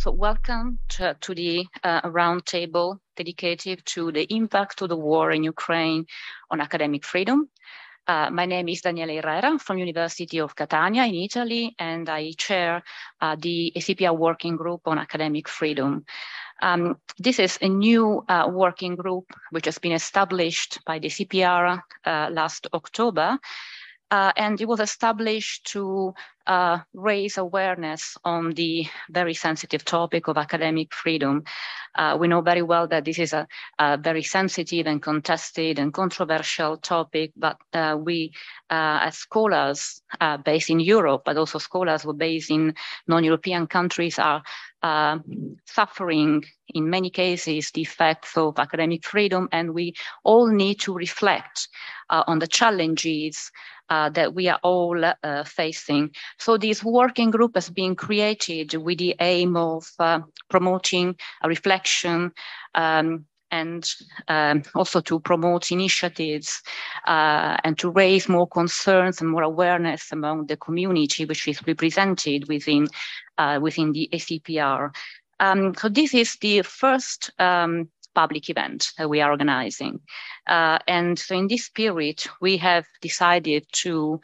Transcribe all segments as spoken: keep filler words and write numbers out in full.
so welcome to, to the uh, roundtable dedicated to the impact of the war in Ukraine on academic freedom. Uh, my name is Daniela Herrera from University of Catania in Italy, and I chair uh, the A C P R Working Group on Academic Freedom. Um, this is a new uh, working group which has been established by the C P R uh, last October. Uh, and it was established to uh, raise awareness on the very sensitive topic of academic freedom. Uh, we know very well that this is a, a very sensitive and contested and controversial topic, but uh, we, uh, as scholars uh, based in Europe, but also scholars who are based in non-European countries, are uh, suffering in many cases the effects of academic freedom, and we all need to reflect uh, on the challenges Uh, that we are all uh, facing. So this working group has been created with the aim of uh, promoting a reflection um, and um, also to promote initiatives uh, and to raise more concerns and more awareness among the community which is represented within, uh, within the A C P R. Um, so this is the first um, public event that we are organizing. Uh, and so in this spirit, we have decided to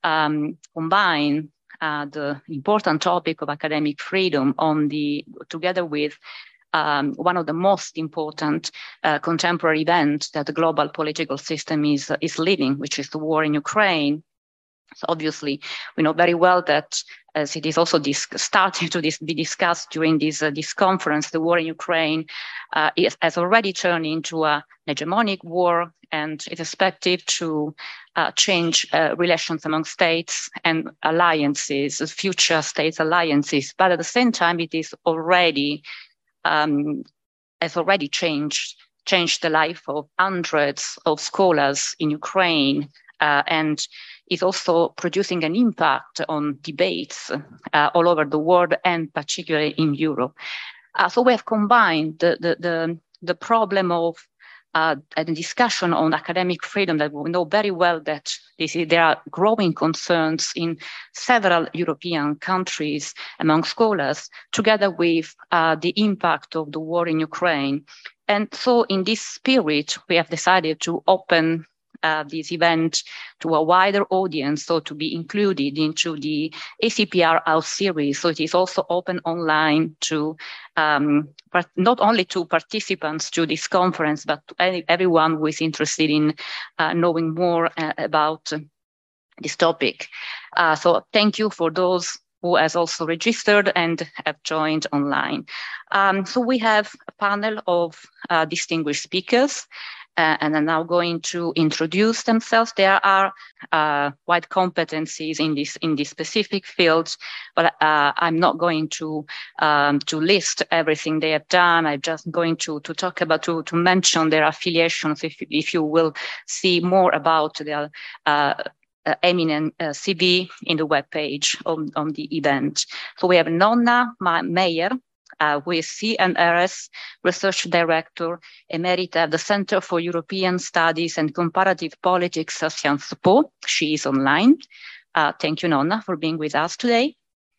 um, combine uh, the important topic of academic freedom on the, together with um, one of the most important uh, contemporary events that the global political system is, uh, is living, which is the war in Ukraine. So obviously, we know very well that, as it is also starting to dis be discussed during this, uh, this conference, the war in Ukraine uh, is, has already turned into a, an hegemonic war, and is expected to uh, change uh, relations among states and alliances, future states alliances. But at the same time, it is already um, has already changed changed the life of hundreds of scholars in Ukraine, uh, and is also producing an impact on debates uh, all over the world, and particularly in Europe. Uh, so we have combined the, the, the, the problem of uh, a discussion on academic freedom, that we know very well that this is, there are growing concerns in several European countries among scholars, together with uh, the impact of the war in Ukraine. And so in this spirit, we have decided to open Uh, this event to a wider audience, so to be included into the A C P R House series. So it is also open online to um, not only to participants to this conference, but to any, everyone who is interested in uh, knowing more uh, about uh, this topic. Uh, so thank you for those who has also registered and have joined online. Um, so we have a panel of uh, distinguished speakers. Uh, and I'm now going to introduce themselves. There are uh, wide competencies in this in this specific fields, but uh, I'm not going to um, to list everything they have done. I'm just going to to talk about to to mention their affiliations. If if you will see more about their uh, uh, eminent uh, C V in the webpage on on the event. So we have Nonna Meyer, Uh, who is C N R S Research Director Emerita at the Center for European Studies and Comparative Politics at Sciences Po. She is online. Uh, thank you, Nonna, for being with us today.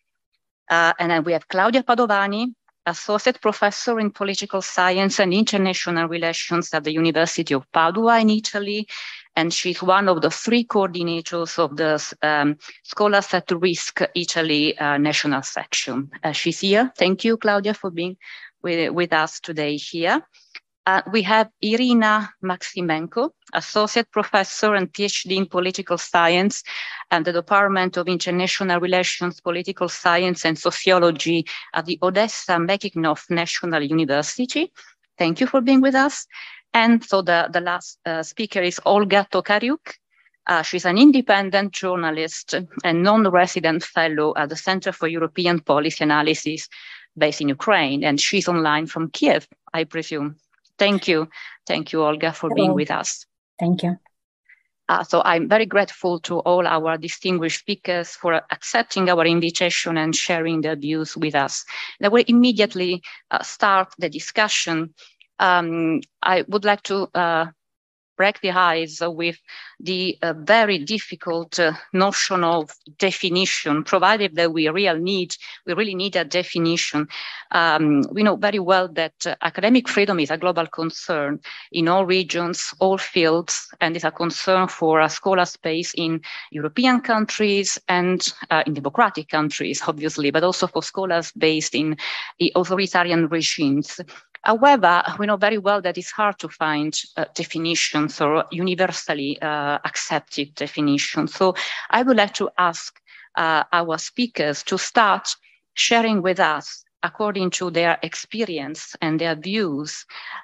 Uh, and then we have Claudia Padovani, Associate Professor in Political Science and International Relations at the University of Padua in Italy. And she's one of the three coordinators of the um, Scholars at Risk Italy uh, national section. Uh, she's here. Thank you, Claudia, for being with, with us today here. Uh, we have Irina Maximenko, Associate Professor and PhD in Political Science at the Department of International Relations, Political Science and Sociology at the Odessa Mekhikhnov National University. Thank you for being with us. And so the, the last uh, speaker is Olga Tokariuk. Uh, she's an independent journalist and non-resident fellow at the Center for European Policy Analysis based in Ukraine. And she's online from Kiev, I presume. Thank you. Thank you, Olga, for Hello. being with us. Thank you. Uh, so I'm very grateful to all our distinguished speakers for accepting our invitation and sharing their views with us. I will immediately uh, start the discussion. Um, I would like to uh, break the ice with the uh, very difficult uh, notion of definition, provided that we really need, we really need a definition. Um, we know very well that uh, academic freedom is a global concern in all regions, all fields, and is a concern for a scholar space in European countries and uh, in democratic countries, obviously, but also for scholars based in the authoritarian regimes. However, we know very well that it's hard to find uh, definitions or universally uh, accepted definitions. So I would like to ask uh, our speakers to start sharing with us, according to their experience and their views,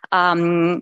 um,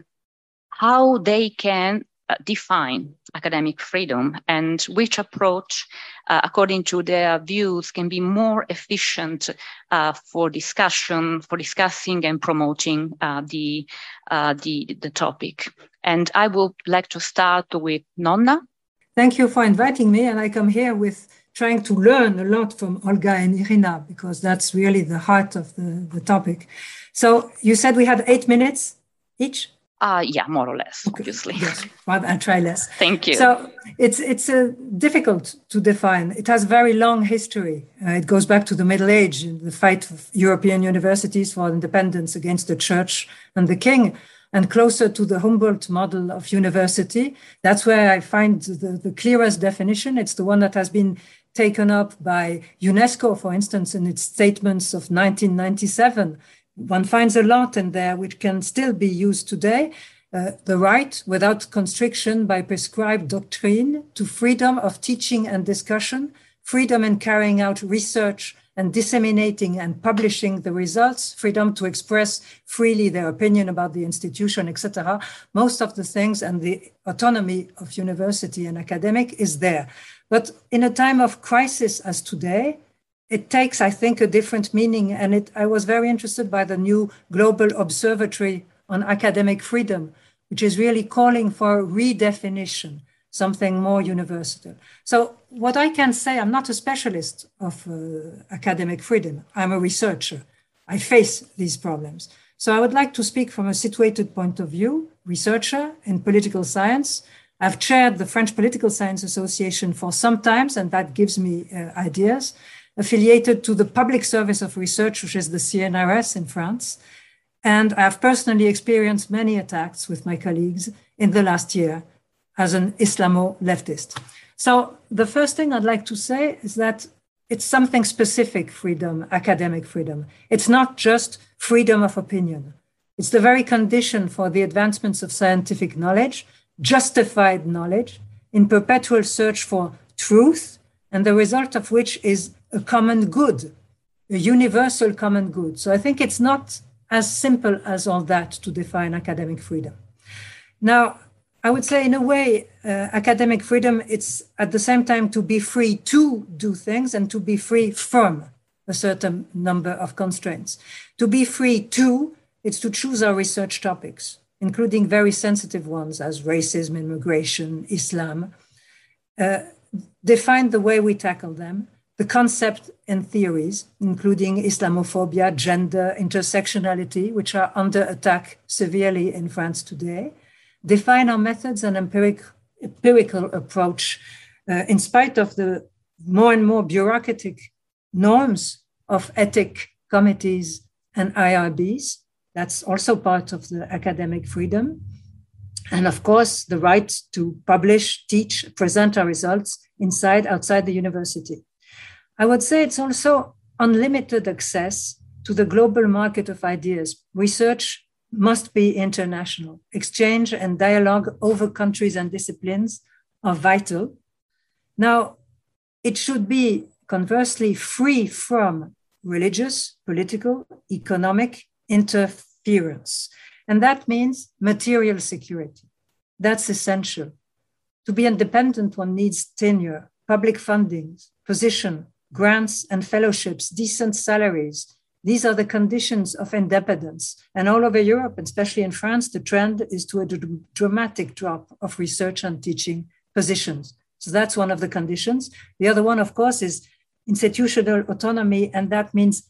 how they can uh, define academic freedom and which approach, uh, according to their views, can be more efficient uh, for discussion, for discussing and promoting uh, the, uh, the, the topic. And I would like to start with Nonna. Thank you for inviting me. And I come here with trying to learn a lot from Olga and Irina, because that's really the heart of the, the topic. So you said we had eight minutes each? Uh, yeah, more or less, okay. Obviously. Yes, well, I'll try less. Thank you. So it's it's uh, difficult to define. It has very long history. Uh, it goes back to the Middle Age, the fight of European universities for independence against the church and the king, and closer to the Humboldt model of university. That's where I find the, the clearest definition. It's the one that has been taken up by UNESCO, for instance, in its statements of nineteen ninety-seven. One finds a lot in there which can still be used today. Uh, the right, without constriction by prescribed doctrine, to freedom of teaching and discussion, freedom in carrying out research and disseminating and publishing the results, freedom to express freely their opinion about the institution, et cetera. Most of the things and the autonomy of university and academic is there. But in a time of crisis as today, it takes, I think, a different meaning. And it, I was very interested by the new Global Observatory on Academic Freedom, which is really calling for redefinition, something more universal. So what I can say, I'm not a specialist of uh, academic freedom. I'm a researcher. I face these problems. So I would like to speak from a situated point of view, researcher in political science. I've chaired the French Political Science Association for some time, and that gives me uh, ideas. Affiliated to the Public Service of Research, which is the C N R S in France. And I've personally experienced many attacks with my colleagues in the last year as an Islamo-leftist. So the first thing I'd like to say is that it's something specific freedom, academic freedom. It's not just freedom of opinion. It's the very condition for the advancements of scientific knowledge, justified knowledge, in perpetual search for truth, and the result of which is a common good, a universal common good. So I think it's not as simple as all that to define academic freedom. Now, I would say in a way, uh, academic freedom, it's at the same time to be free to do things and to be free from a certain number of constraints. To be free to, it's to choose our research topics, including very sensitive ones as racism, immigration, Islam, uh, define the way we tackle them, the concept and theories, including Islamophobia, gender, intersectionality, which are under attack severely in France today, define our methods and empiric, empirical approach uh, in spite of the more and more bureaucratic norms of ethic committees and I R Bs. That's also part of the academic freedom. And of course, the right to publish, teach, present our results inside, outside the university. I would say it's also unlimited access to the global market of ideas. Research must be international. Exchange and dialogue over countries and disciplines are vital. Now, it should be conversely free from religious, political, economic interference. And that means material security. That's essential. To be independent, one needs tenure, public funding, position, grants and fellowships, decent salaries. These are the conditions of independence. And all over Europe, especially in France, the trend is to a d- dramatic drop of research and teaching positions. So that's one of the conditions. The other one, of course, is institutional autonomy, and that means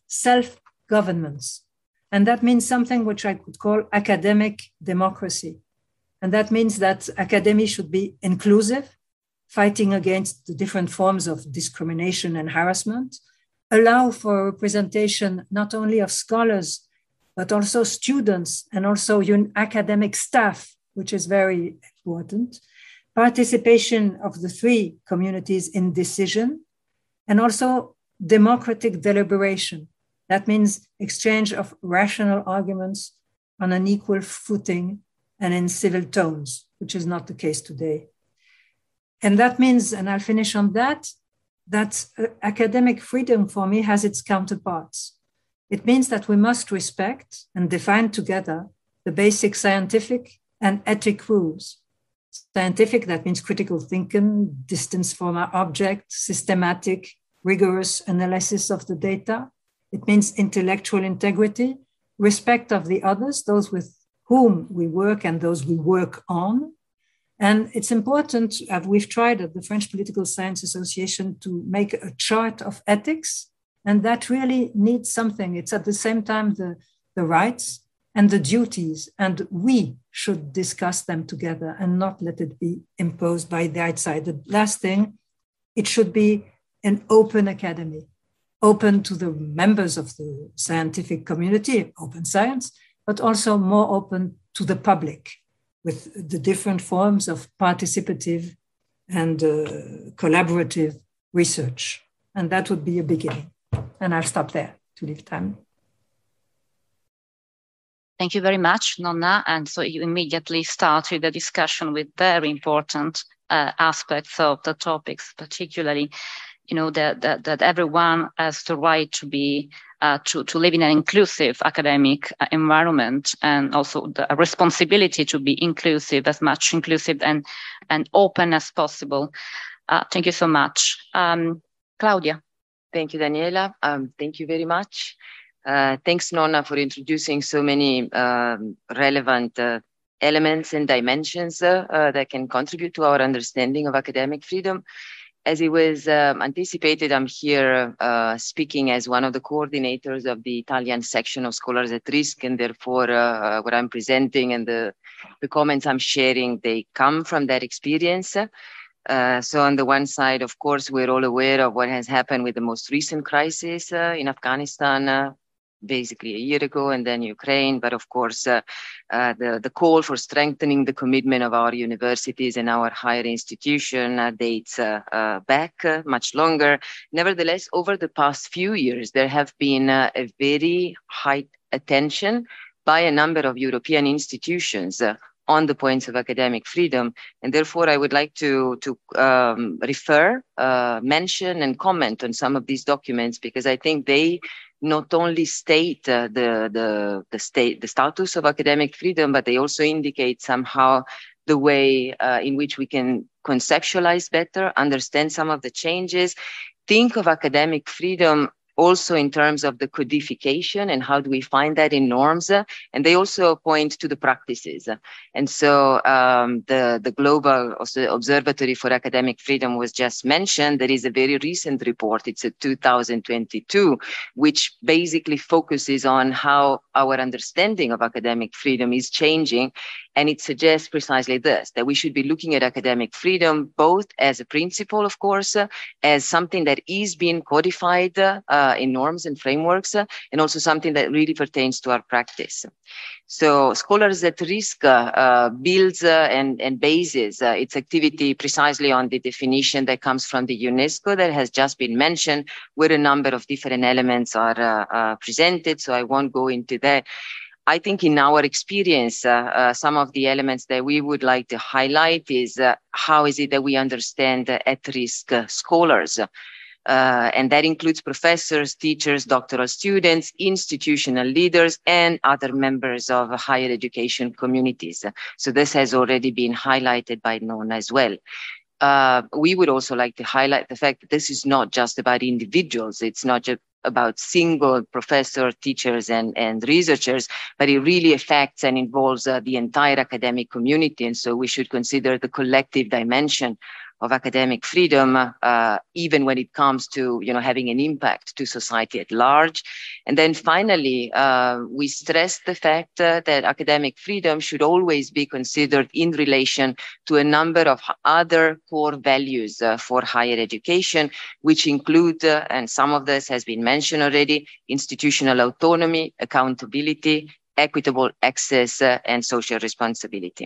self-governance. And that means something which I could call academic democracy. And that means that academia should be inclusive, fighting against the different forms of discrimination and harassment, allow for representation not only of scholars, but also students and also academic staff, which is very important, participation of the three communities in decision, and also democratic deliberation. That means exchange of rational arguments on an equal footing and in civil tones, which is not the case today. And that means, and I'll finish on that, that uh, academic freedom for me has its counterparts. It means that we must respect and define together the basic scientific and ethic rules. Scientific, that means critical thinking, distance from our object, systematic, rigorous analysis of the data. It means intellectual integrity, respect of the others, those with whom we work and those we work on. And it's important, uh, we've tried at the French Political Science Association to make a chart of ethics, and that really needs something. It's at the same time the, the rights and the duties, and we should discuss them together and not let it be imposed by the outside. The last thing, it should be an open academy, open to the members of the scientific community, open science, but also more open to the public with the different forms of participative and uh, collaborative research. And that would be a beginning. And I'll stop there to leave time. Thank you very much, Nonna. And so you immediately started the discussion with very important uh, aspects of the topics, particularly, you know, that, that, that everyone has the right to be, uh, to, to live in an inclusive academic uh, environment, and also the responsibility to be inclusive, as much inclusive and, and open as possible. Uh, thank you so much. Um, Claudia. Thank you, Daniela. Um, thank you very much. Uh, thanks, Nonna, for introducing so many um, relevant uh, elements and dimensions uh, uh, that can contribute to our understanding of academic freedom. As it was um, anticipated, I'm here uh, speaking as one of the coordinators of the Italian section of Scholars at Risk, and therefore uh, what I'm presenting and the, the comments I'm sharing, they come from that experience. Uh, so on the one side, of course, we're all aware of what has happened with the most recent crisis uh, in Afghanistan, uh, basically a year ago, and then Ukraine. But of course, uh, uh, the, the call for strengthening the commitment of our universities and our higher institution uh, dates uh, uh, back uh, much longer. Nevertheless, over the past few years, there have been uh, a very high attention by a number of European institutions uh, on the points of academic freedom. And therefore, I would like to, to um, refer, uh, mention and comment on some of these documents, because I think they not only state uh, the, the, the, state, the status of academic freedom, but they also indicate somehow the way uh, in which we can conceptualize better, understand some of the changes, think of academic freedom also in terms of the codification and how do we find that in norms. And they also point to the practices. And so um, the, the Global Observatory for Academic Freedom was just mentioned. There is a very recent report, it's a two thousand twenty-two, which basically focuses on how our understanding of academic freedom is changing. And it suggests precisely this, that we should be looking at academic freedom both as a principle, of course, uh, as something that is being codified uh, in norms and frameworks, uh, and also something that really pertains to our practice. So Scholars at Risk uh, uh, builds uh, and, and bases uh, its activity precisely on the definition that comes from the UNESCO that has just been mentioned, where a number of different elements are uh, uh, presented. So I won't go into that. I think in our experience, uh, uh, some of the elements that we would like to highlight is uh, how is it that we understand uh, at-risk uh, scholars. Uh, and that includes professors, teachers, doctoral students, institutional leaders, and other members of higher education communities. So this has already been highlighted by Nonna as well. Uh, we would also like to highlight the fact that this is not just about individuals. It's not just about single professor, teachers, and, and researchers, but it really affects and involves uh, the entire academic community. And so we should consider the collective dimension of academic freedom, uh, even when it comes to, you know, having an impact to society at large. And then finally, uh, we stress the fact uh, that academic freedom should always be considered in relation to a number of other core values uh, for higher education, which include, uh, and some of this has been mentioned already, institutional autonomy, accountability, equitable access, uh, and social responsibility.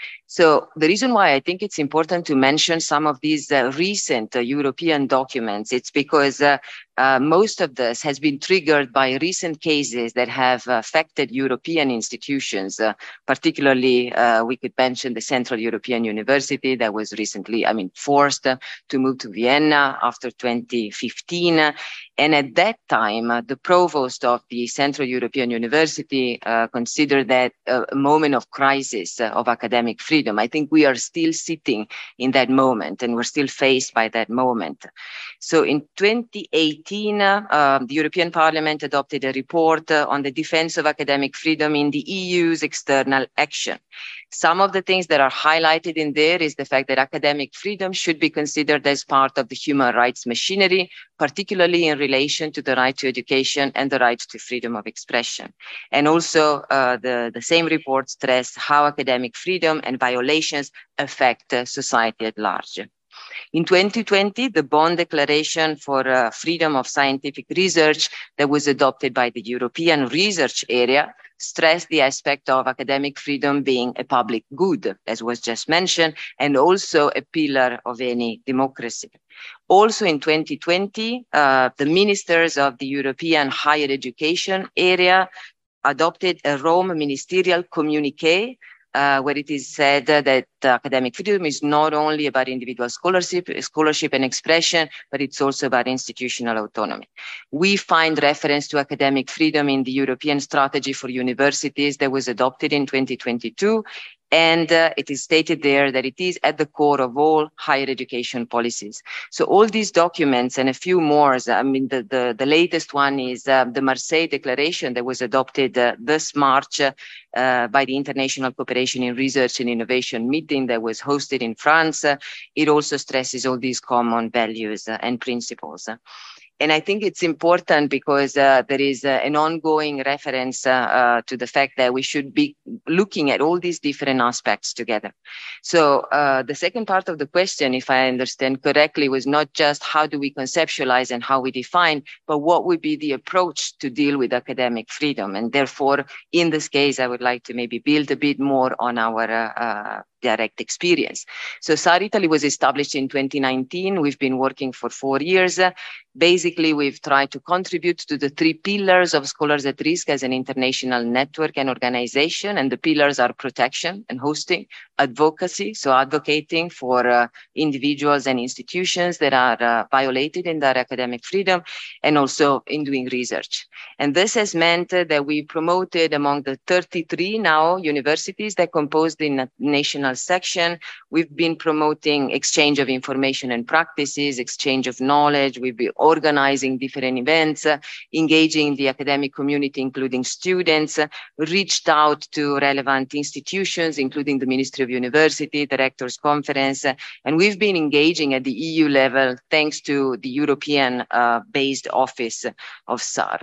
So the reason why I think it's important to mention some of these uh, recent uh, European documents, it's because uh, uh, most of this has been triggered by recent cases that have affected European institutions. Uh, particularly, uh, we could mention the Central European University that was recently, I mean, forced uh, to move to Vienna after twenty fifteen. And at that time, uh, the provost of the Central European University uh, considered that uh, a moment of crisis uh, of academic freedom. I think we are still sitting in that moment and we're still faced by that moment. So in twenty eighteen, uh, uh, the European Parliament adopted a report uh, on the defense of academic freedom in the E U's external action. Some of the things that are highlighted in there is the fact that academic freedom should be considered as part of the human rights machinery, particularly in relation to the right to education and the right to freedom of expression. And also uh, the, the same report stressed how academic freedom and violations affect uh, society at large. In twenty twenty, the Bonn Declaration for uh, Freedom of Scientific Research that was adopted by the European research area stressed the aspect of academic freedom being a public good, as was just mentioned, and also a pillar of any democracy. Also in twenty twenty, uh, the ministers of the European higher education area adopted a Rome ministerial communique Uh, where it is said uh, that uh, academic freedom is not only about individual scholarship, scholarship and expression, but it's also about institutional autonomy. We find reference to academic freedom in the European Strategy for Universities that was adopted in twenty twenty-two. And uh, it is stated there that it is at the core of all higher education policies. So all these documents and a few more, I mean, the, the, the latest one is uh, the Marseille Declaration that was adopted uh, this March uh, uh, by the International Cooperation in Research and Innovation meeting that was hosted in France. Uh, it also stresses all these common values uh, and principles. And I think it's important because uh, there is uh, an ongoing reference uh, uh, to the fact that we should be looking at all these different aspects together. So uh, the second part of the question, if I understand correctly, was not just how do we conceptualize and how we define, but what would be the approach to deal with academic freedom. And therefore, in this case, I would like to maybe build a bit more on our uh, uh, direct experience. So S A R Italy was established in twenty nineteen. We've been working for four years. Basically, we've tried to contribute to the three pillars of Scholars at Risk as an international network and organization. And the pillars are protection and hosting, advocacy, so advocating for uh, individuals and institutions that are uh, violated in their academic freedom, and also in doing research. And this has meant uh, that we promoted among the thirty-three now universities that compose the national section. We've been promoting exchange of information and practices, exchange of knowledge. We've been organizing different events, uh, engaging the academic community, including students, uh, reached out to relevant institutions, including the Ministry of University, the Rectors Conference, uh, and we've been engaging at the E U level thanks to the European-based uh, office of S A R.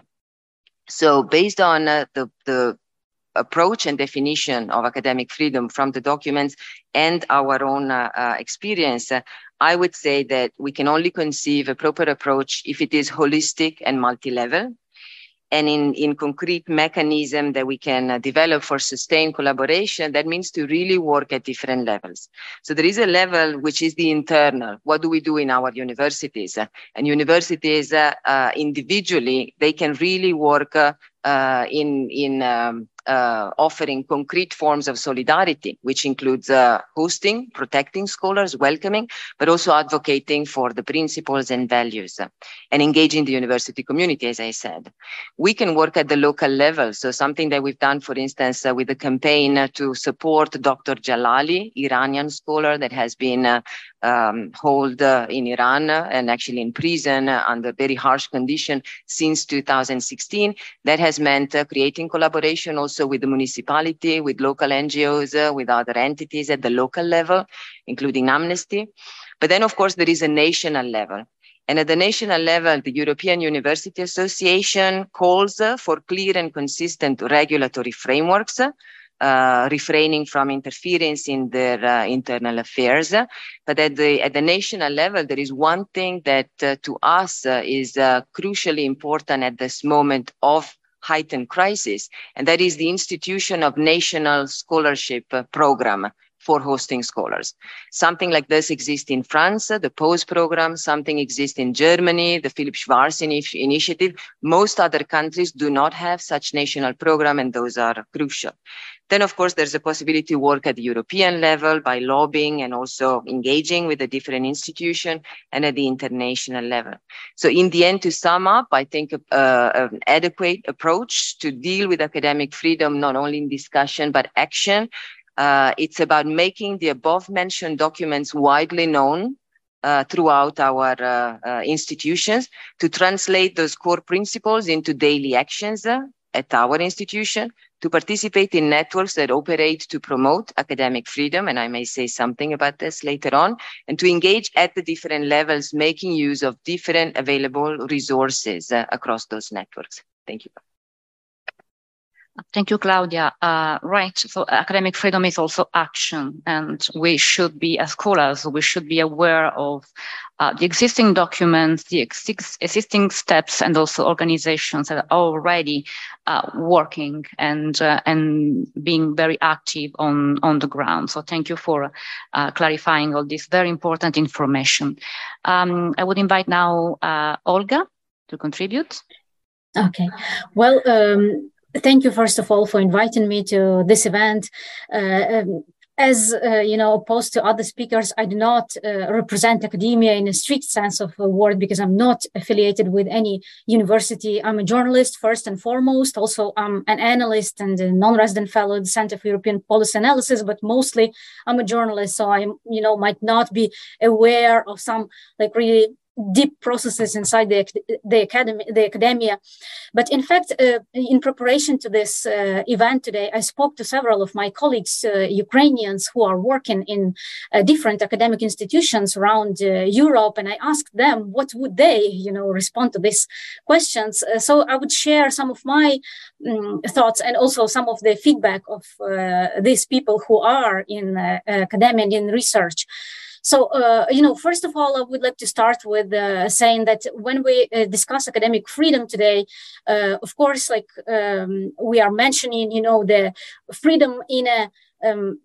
So based on uh, the, the approach and definition of academic freedom from the documents and our own uh, uh, experience, uh, I would say that we can only conceive a proper approach if it is holistic and multi-level, and in, in concrete mechanism that we can uh, develop for sustained collaboration. That means to really work at different levels. So there is a level which is the internal. What do we do in our universities? Uh, and universities uh, uh, individually, they can really work uh, uh, in, in um, Uh, offering concrete forms of solidarity, which includes uh, hosting, protecting scholars, welcoming, but also advocating for the principles and values uh, and engaging the university community, as I said. We can work at the local level. So something that we've done, for instance, uh, with the campaign uh, to support Doctor Jalali, Iranian scholar that has been uh, um, held uh, in Iran uh, and actually in prison uh, under very harsh conditions since two thousand sixteen. That has meant uh, creating collaboration also with the municipality, with local N G Os, uh, with other entities at the local level, including Amnesty. But then, of course, there is a national level. And at the national level, the European University Association calls uh, for clear and consistent regulatory frameworks, uh, refraining from interference in their uh, internal affairs. But at the, at the national level, there is one thing that uh, to us uh, is uh, crucially important at this moment of heightened crisis, and that is the institution of national scholarship uh, program for hosting scholars. Something like this exists in France, the P O S E program, something exists in Germany, the Philipp Schwarz initiative. Most other countries do not have such national program, and those are crucial. Then, of course, there's a possibility to work at the European level by lobbying and also engaging with the different institutions, and at the international level. So in the end, to sum up, I think uh, an adequate approach to deal with academic freedom, not only in discussion, but action. Uh, it's about making the above-mentioned documents widely known uh, throughout our uh, uh, institutions, to translate those core principles into daily actions uh, at our institution, to participate in networks that operate to promote academic freedom, and I may say something about this later on, and to engage at the different levels, making use of different available resources uh, across those networks. Thank you. Thank you, Claudia. Uh, right, so academic freedom is also action, and we should be, as scholars, we should be aware of uh, the existing documents, the ex existing steps, and also organizations that are already uh, working and uh, and being very active on, on the ground. So thank you for uh, clarifying all this very important information. Um, I would invite now uh, Olga to contribute. Okay, well, um, thank you, first of all, for inviting me to this event. Uh, um, as, uh, you know, opposed to other speakers, I do not uh, represent academia in a strict sense of the word, because I'm not affiliated with any university. I'm a journalist, first and foremost. Also, I'm an analyst and a non-resident fellow at the Center for European Policy Analysis, but mostly I'm a journalist. So I, you know, might not be aware of some like really deep processes inside the, the, academy, the academia. But in fact, uh, in preparation to this uh, event today, I spoke to several of my colleagues, uh, Ukrainians, who are working in uh, different academic institutions around uh, Europe, and I asked them what would they, you know, respond to these questions. Uh, so I would share some of my um, thoughts and also some of the feedback of uh, these people who are in uh, academia and in research. So, uh, you know, first of all, I would like to start with uh, saying that when we uh, discuss academic freedom today, uh, of course, like um, we are mentioning, you know, the freedom in a um,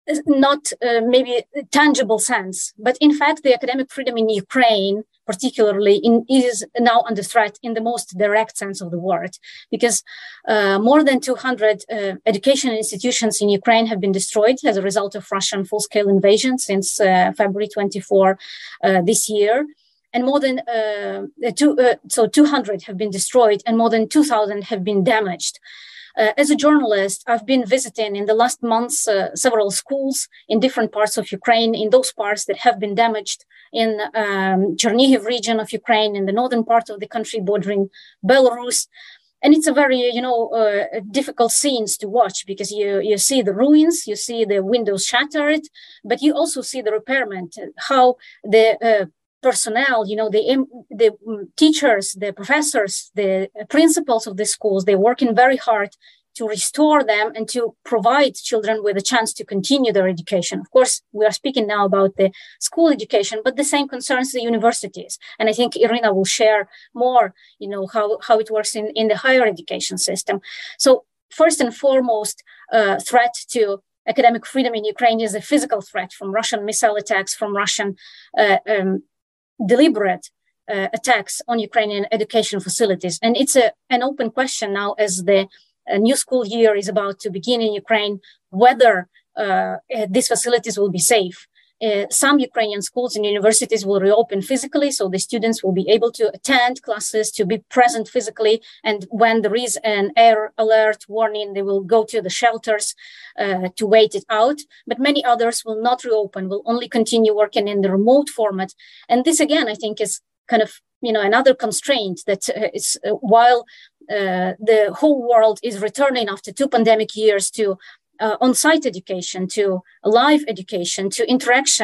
not uh, maybe tangible sense, but in fact, the academic freedom in Ukraine, particularly, in, is now under threat in the most direct sense of the word, because uh, more than two hundred uh, education institutions in Ukraine have been destroyed as a result of Russian full-scale invasion since uh, February twenty-fourth uh, this year. And more than uh, two, uh, so two hundred have been destroyed, and more than two thousand have been damaged. Uh, as a journalist, I've been visiting in the last months uh, several schools in different parts of Ukraine, in those parts that have been damaged, in um, Chernihiv region of Ukraine, in the northern part of the country bordering Belarus. And it's a very, you know, uh, difficult scenes to watch, because you, you see the ruins, you see the windows shattered, but you also see the repairment, how the uh, personnel, you know, the, the teachers, the professors, the principals of the schools, they're working very hard to restore them and to provide children with a chance to continue their education. Of course, we are speaking now about the school education, but the same concerns the universities. And I think Irina will share more, you know, how, how it works in, in the higher education system. So first and foremost, uh, threat to academic freedom in Ukraine is a physical threat from Russian missile attacks, from Russian uh, um, deliberate uh, attacks on Ukrainian education facilities. And it's a, an open question now, as the uh, new school year is about to begin in Ukraine, whether uh, these facilities will be safe. Uh, some Ukrainian schools and universities will reopen physically, so the students will be able to attend classes, to be present physically, and when there is an air alert warning, they will go to the shelters uh, to wait it out. But many others will not reopen, will only continue working in the remote format. And this, again, I think is kind of, you know, another constraint that uh, is, uh, while uh, the whole world is returning after two pandemic years to Uh, on-site education, to live education, to interaction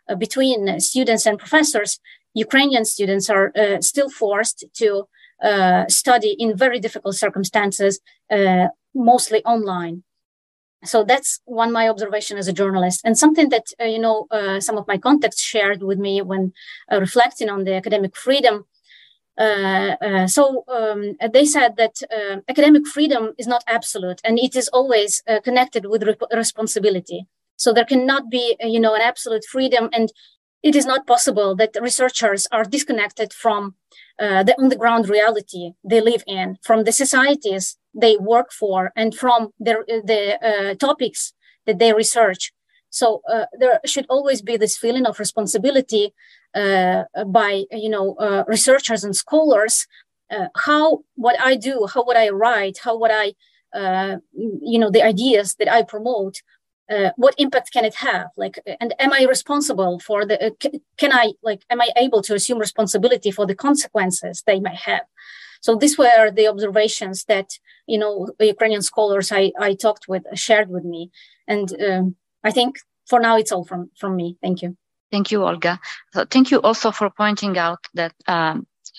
uh, between students and professors, Ukrainian students are uh, still forced to uh, study in very difficult circumstances, uh, mostly online. So that's one my observation as a journalist, and something that uh, you know uh, some of my contacts shared with me when uh, reflecting on the academic freedom. Uh, uh, so um, they said that uh, academic freedom is not absolute, and it is always uh, connected with re responsibility. So there cannot be you know an absolute freedom, and it is not possible that researchers are disconnected from uh, the on-the-ground reality they live in, from the societies they work for, and from their, the uh, topics that they research. So uh, there should always be this feeling of responsibility uh, by, you know, uh, researchers and scholars. Uh, how what I do, how what I write, how what I, uh, you know, the ideas that I promote, Uh, what impact can it have? Like, and am I responsible for the, uh, can I, like, am I able to assume responsibility for the consequences they may have? So these were the observations that, you know, Ukrainian scholars I, I talked with shared with me. And um, I think for now, it's all from, from me. Thank you. Thank you, Olga. So thank you also for pointing out that um,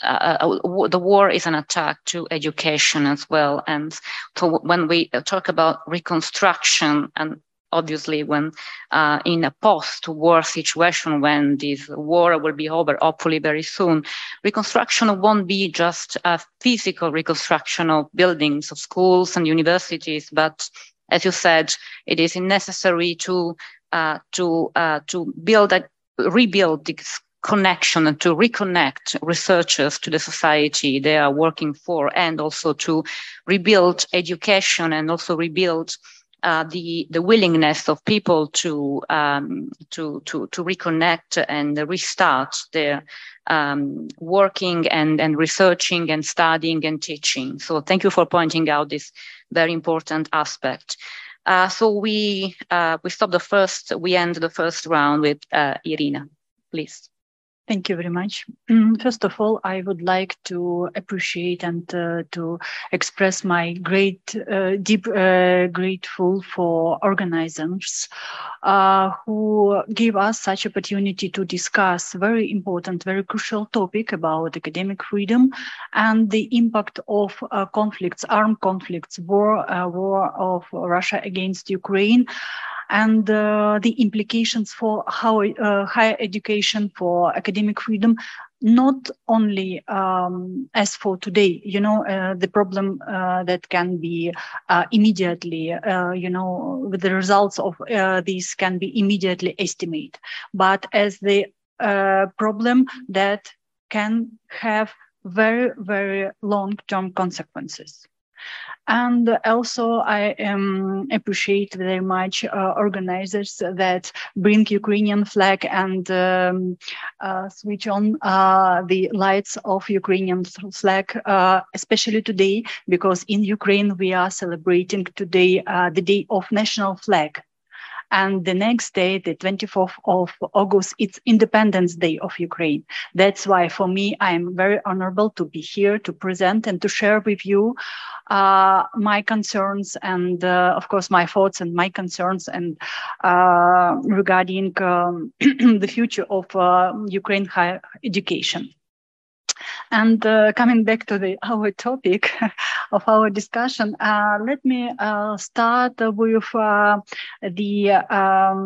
uh, the war is an attack to education as well. And so when we talk about reconstruction, and obviously when uh, in a post-war situation, when this war will be over, hopefully very soon, reconstruction won't be just a physical reconstruction of buildings, of schools and universities, but as you said, it is necessary to uh, to uh, to build a rebuild this connection and to reconnect researchers to the society they are working for, and also to rebuild education and also rebuild Uh, the the willingness of people to um, to to to reconnect and restart their um, working and and researching and studying and teaching. So thank you for pointing out this very important aspect. Uh, so we uh, we stop the first. We end the first round with uh, Irina, please. Thank you very much. First of all, I would like to appreciate and uh, to express my great, uh, deep uh, grateful for organizers uh, who give us such opportunity to discuss very important, very crucial topic about academic freedom and the impact of uh, conflicts, armed conflicts, war, uh, war of Russia against Ukraine, and uh, the implications for how uh, higher education, for academic freedom, not only um, as for today, you know, uh, the problem uh, that can be uh, immediately, uh, you know, with the results of uh, these can be immediately estimated, but as the uh, problem that can have very, very long-term consequences. And also, I um, appreciate very much uh, organizers that bring Ukrainian flag and um, uh, switch on uh, the lights of Ukrainian flag, uh, especially today, because in Ukraine we are celebrating today uh, the day of national flag. And the next day, the twenty-fourth of August, it's Independence Day of Ukraine. That's why for me, I am very honorable to be here to present and to share with you uh, my concerns and, uh, of course, my thoughts and my concerns and uh, regarding um, the future of uh, Ukraine higher education. And uh, coming back to the our topic of our discussion, uh, let me uh, start with uh, the um,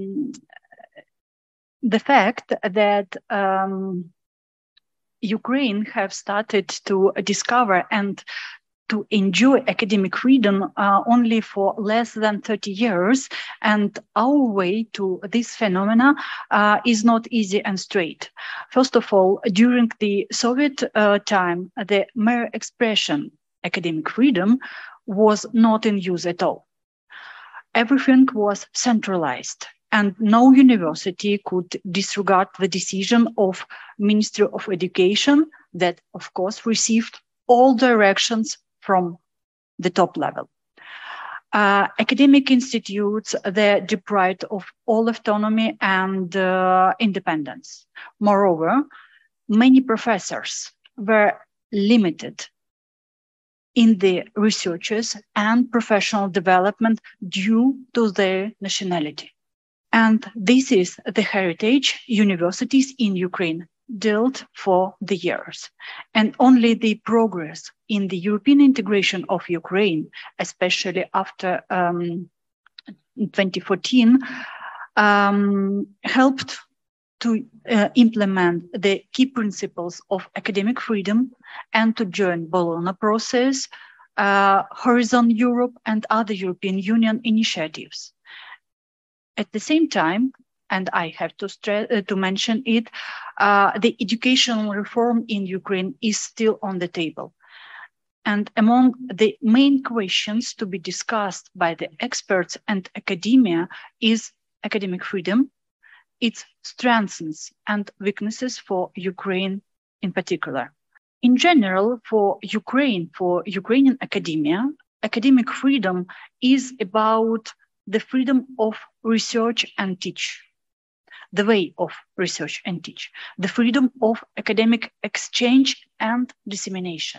the fact that um, Ukraine have started to discover and to enjoy academic freedom uh, only for less than thirty years. And our way to this phenomena uh, is not easy and straight. First of all, during the Soviet uh, time, the mere expression academic freedom was not in use at all. Everything was centralized, and no university could disregard the decision of Ministry of Education that, of course, received all directions from the top level. Uh, academic institutes, they're deprived of all autonomy and uh, independence. Moreover, many professors were limited in the researches and professional development due to their nationality. And this is the heritage universities in Ukraine built for the years. And only the progress in the European integration of Ukraine, especially after um, twenty fourteen, um, helped to uh, implement the key principles of academic freedom and to join Bologna process, uh, Horizon Europe and other European Union initiatives. At the same time, and I have to stress, uh, to mention it, uh, the educational reform in Ukraine is still on the table. And among the main questions to be discussed by the experts and academia is academic freedom, its strengths and weaknesses for Ukraine in particular. In general, for Ukraine, for Ukrainian academia, academic freedom is about the freedom of research and teach, the way of research and teach, the freedom of academic exchange and dissemination,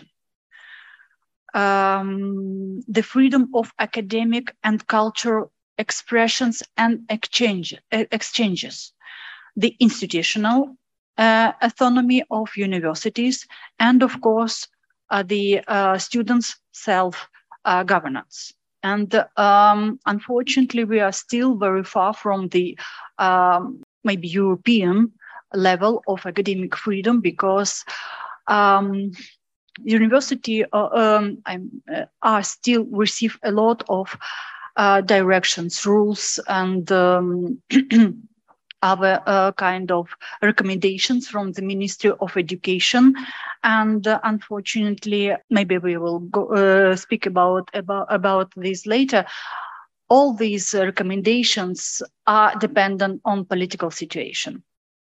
um, the freedom of academic and cultural expressions and exchange, exchanges, the institutional uh, autonomy of universities, and of course, uh, the uh, students' self-governance. Uh, and um, unfortunately, we are still very far from the um, maybe European level of academic freedom, because um, university uh, um, uh, are still receive a lot of uh, directions, rules, and um, other uh, kind of recommendations from the Ministry of Education. And uh, unfortunately, maybe we will go, uh, speak about, about, about this later. All these uh, recommendations are dependent on political situation.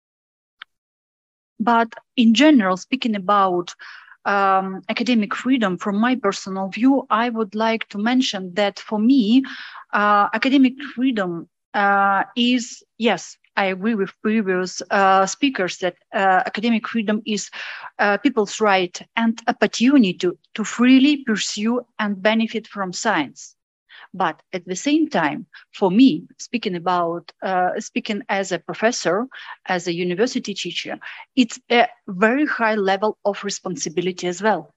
But in general, speaking about um, academic freedom, from my personal view, I would like to mention that for me, uh, academic freedom uh, is, yes, I agree with previous uh, speakers that uh, academic freedom is uh, people's right and opportunity to, to freely pursue and benefit from science. But at the same time, for me, speaking about, uh, speaking as a professor, as a university teacher, it's a very high level of responsibility as well.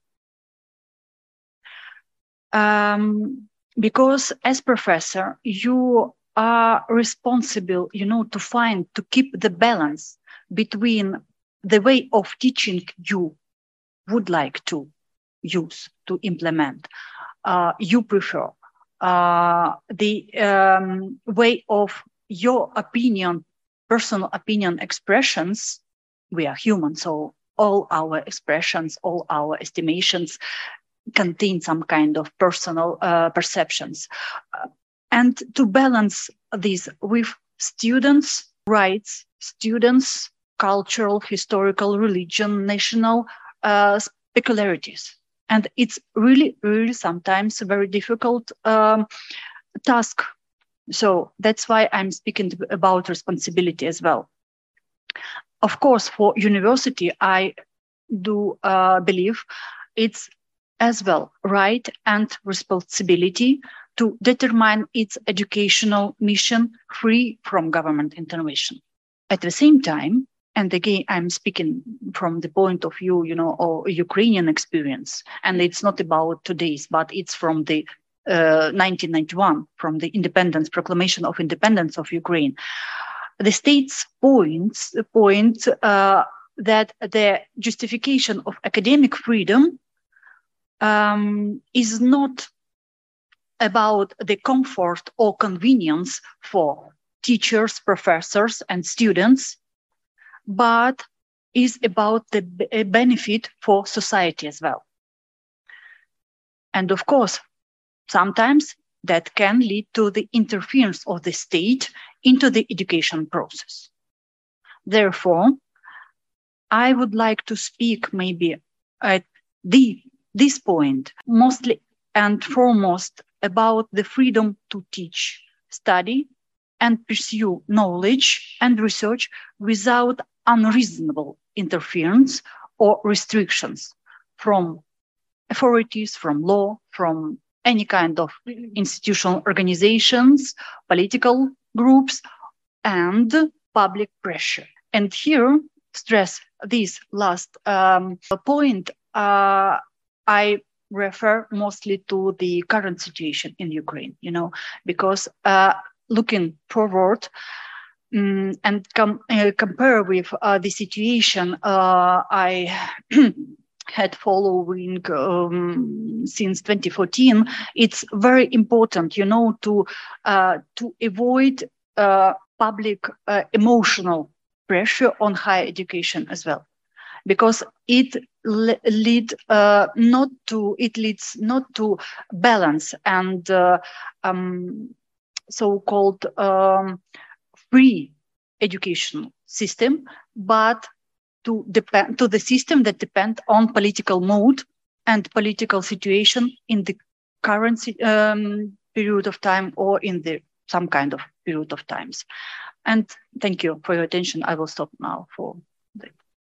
Um, because as professor, you are responsible, you know, to find, to keep the balance between the way of teaching you would like to use, to implement, uh, you prefer, uh, the um, way of your opinion, personal opinion expressions. We are human, so all our expressions, all our estimations contain some kind of personal uh, perceptions. Uh, And to balance this with students' rights, students' cultural, historical, religion, national uh, peculiarities. And it's really, really sometimes a very difficult um, task. So that's why I'm speaking about responsibility as well. Of course, for university, I do uh, believe it's as well right and responsibility to determine its educational mission free from government intervention. At the same time, and again, I'm speaking from the point of view, you know, of Ukrainian experience, and it's not about today's, but it's from the uh, nineteen ninety-one, from the independence, proclamation of independence of Ukraine. The state's points, point uh, that the justification of academic freedom um, is not about the comfort or convenience for teachers, professors, and students, but is about the benefit for society as well. And of course, sometimes that can lead to the interference of the state into the education process. Therefore, I would like to speak maybe at the, this point, mostly and foremost about the freedom to teach, study, and pursue knowledge and research without unreasonable interference or restrictions from authorities, from law, from any kind of institutional organizations, political groups, and public pressure. And here, stress this last um, point, uh, I refer mostly to the current situation in Ukraine, you know, because uh, looking forward um, and com- uh, compare with uh, the situation uh, I had following um, since twenty fourteen, it's very important, you know, to uh, to avoid uh, public uh, emotional pressure on higher education as well, because it le- lead uh, not to it leads not to balance and uh, um, so-called um, free educational system, but to depend to the system that depend on political mood and political situation in the current um, period of time or in the some kind of period of times. And thank you for your attention. I will stop now for that.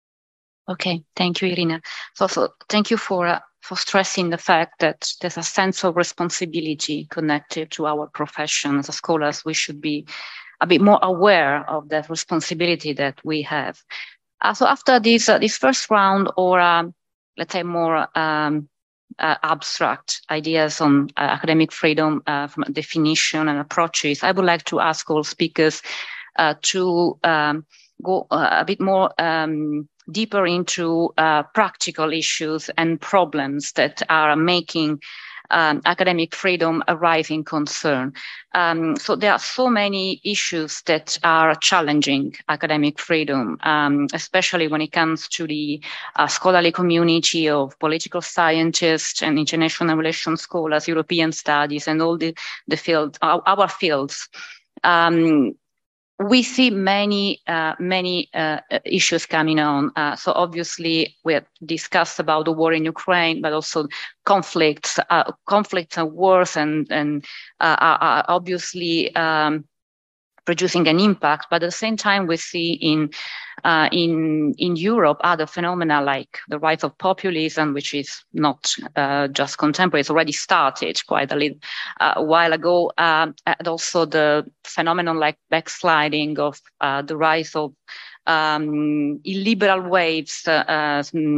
Okay, thank you, Irina. So, so thank you for uh, for stressing the fact that there's a sense of responsibility connected to our profession. As scholars, we should be a bit more aware of that responsibility that we have. Uh, so after this uh, this first round, or um, let's say more um, uh, abstract ideas on uh, academic freedom uh, from definition and approaches, I would like to ask all speakers uh, to um, go uh, a bit more um, deeper into uh, practical issues and problems that are making um, academic freedom a rising concern. Um, so there are so many issues that are challenging academic freedom, um, especially when it comes to the uh, scholarly community of political scientists and international relations scholars, European studies, and all the, the field, our, our fields. Um, We see many, uh, many uh, issues coming on. Uh, so obviously, we have discussed about the war in Ukraine, but also conflicts, uh, conflicts and wars, and and uh, are, are obviously um, producing an impact. But at the same time, we see in uh, in in Europe other phenomena like the rise of populism, which is not uh, just contemporary; it's already started quite a little uh, while ago, um, and also the phenomenon like backsliding of uh, the rise of um, illiberal waves uh, uh,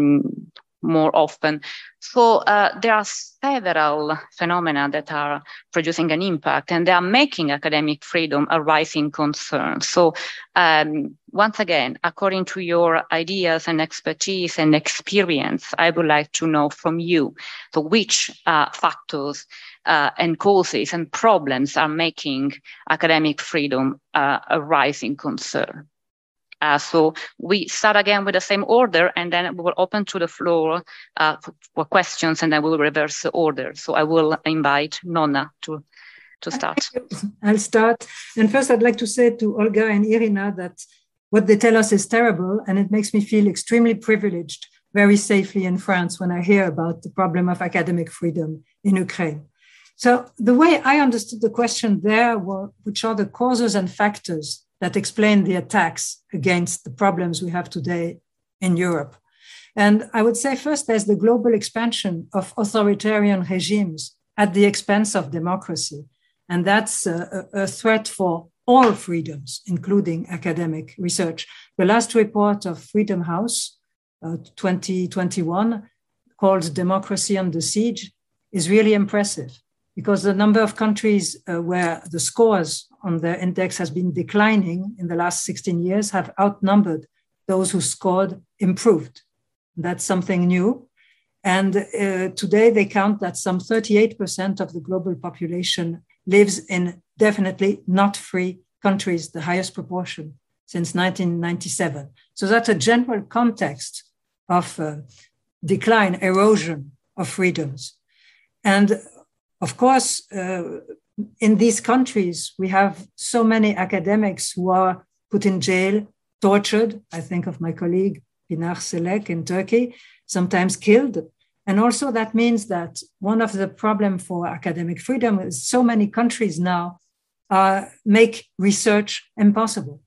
more often. So uh, there are several phenomena that are producing an impact, and they are making academic freedom a rising concern. So um, once again, according to your ideas and expertise and experience, I would like to know from you, so which uh, factors uh, and causes and problems are making academic freedom uh, a rising concern. Uh, so we start again with the same order, and then we will open to the floor uh, for, for questions, and then we will reverse the order. So I will invite Nonna to, to start. I'll start. And first, I'd like to say to Olga and Irina that what they tell us is terrible, and it makes me feel extremely privileged, very safely in France when I hear about the problem of academic freedom in Ukraine. So the way I understood the question there were, which are the causes and factors that explain the attacks against the problems we have today in Europe. And I would say first, there's the global expansion of authoritarian regimes at the expense of democracy. And that's a, a threat for all freedoms, including academic research. The last report of Freedom House, uh, twenty twenty-one, called Democracy Under Siege, is really impressive, because the number of countries uh, where the scores on their index has been declining in the last sixteen years have outnumbered those who scored improved. That's something new. And uh, today they count that some thirty-eight percent of the global population lives in definitely not free countries, the highest proportion since nineteen ninety-seven. So that's a general context of uh, decline, erosion of freedoms. And of course, uh, in these countries, we have so many academics who are put in jail, tortured. I think of my colleague Pinar Selek in Turkey, sometimes killed. And also that means that one of the problems for academic freedom is so many countries now uh, make research impossible.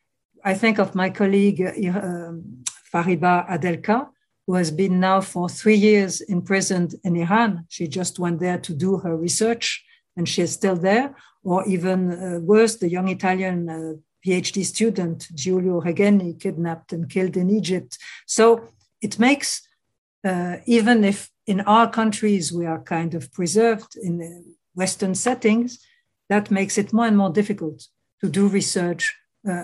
I think of my colleague uh, Fariba Adelka, who has been now for three years imprisoned in Iran. She just went there to do her research, and she is still there. Or even uh, worse, the young Italian uh, PhD student, Giulio Regeni, kidnapped and killed in Egypt. So it makes, uh, even if in our countries we are kind of preserved in Western settings, that makes it more and more difficult to do research uh,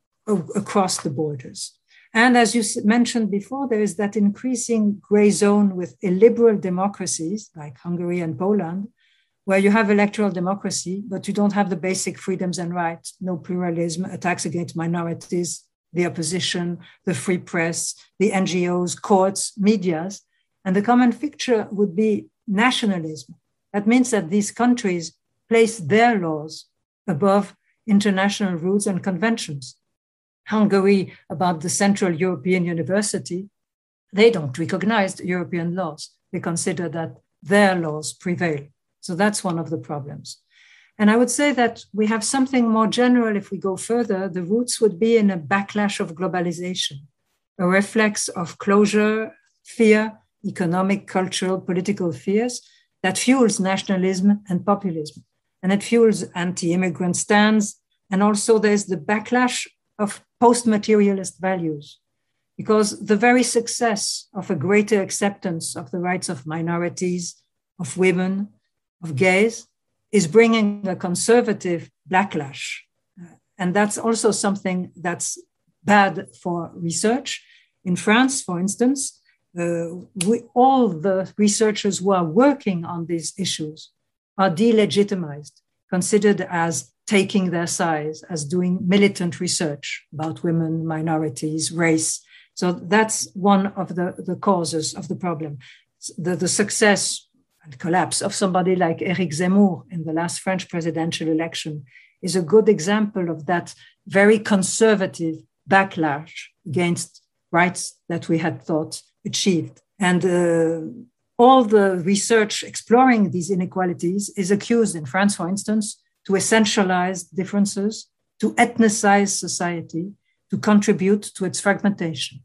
across the borders. And as you mentioned before, there is that increasing gray zone with illiberal democracies like Hungary and Poland, where you have electoral democracy, but you don't have the basic freedoms and rights, no pluralism, attacks against minorities, the opposition, the free press, the N G Os, courts, medias. And the common picture would be nationalism. That means that these countries place their laws above international rules and conventions. Hungary, about the Central European University, they don't recognize European laws. They consider that their laws prevail. So that's one of the problems. And I would say that we have something more general. If we go further, the roots would be in a backlash of globalization, a reflex of closure, fear, economic, cultural, political fears that fuels nationalism and populism. And it fuels anti-immigrant stands. And also there's the backlash of post-materialist values, because the very success of a greater acceptance of the rights of minorities, of women, of gays, is bringing a conservative backlash. And that's also something that's bad for research. In France, for instance, uh, we, all the researchers who are working on these issues are delegitimized, considered as taking their sides, as doing militant research about women, minorities, race. So that's one of the, the causes of the problem. The, the success and collapse of somebody like Éric Zemmour in the last French presidential election is a good example of that very conservative backlash against rights that we had thought achieved. And uh, all the research exploring these inequalities is accused in France, for instance, to essentialize differences, to ethnicize society, to contribute to its fragmentation.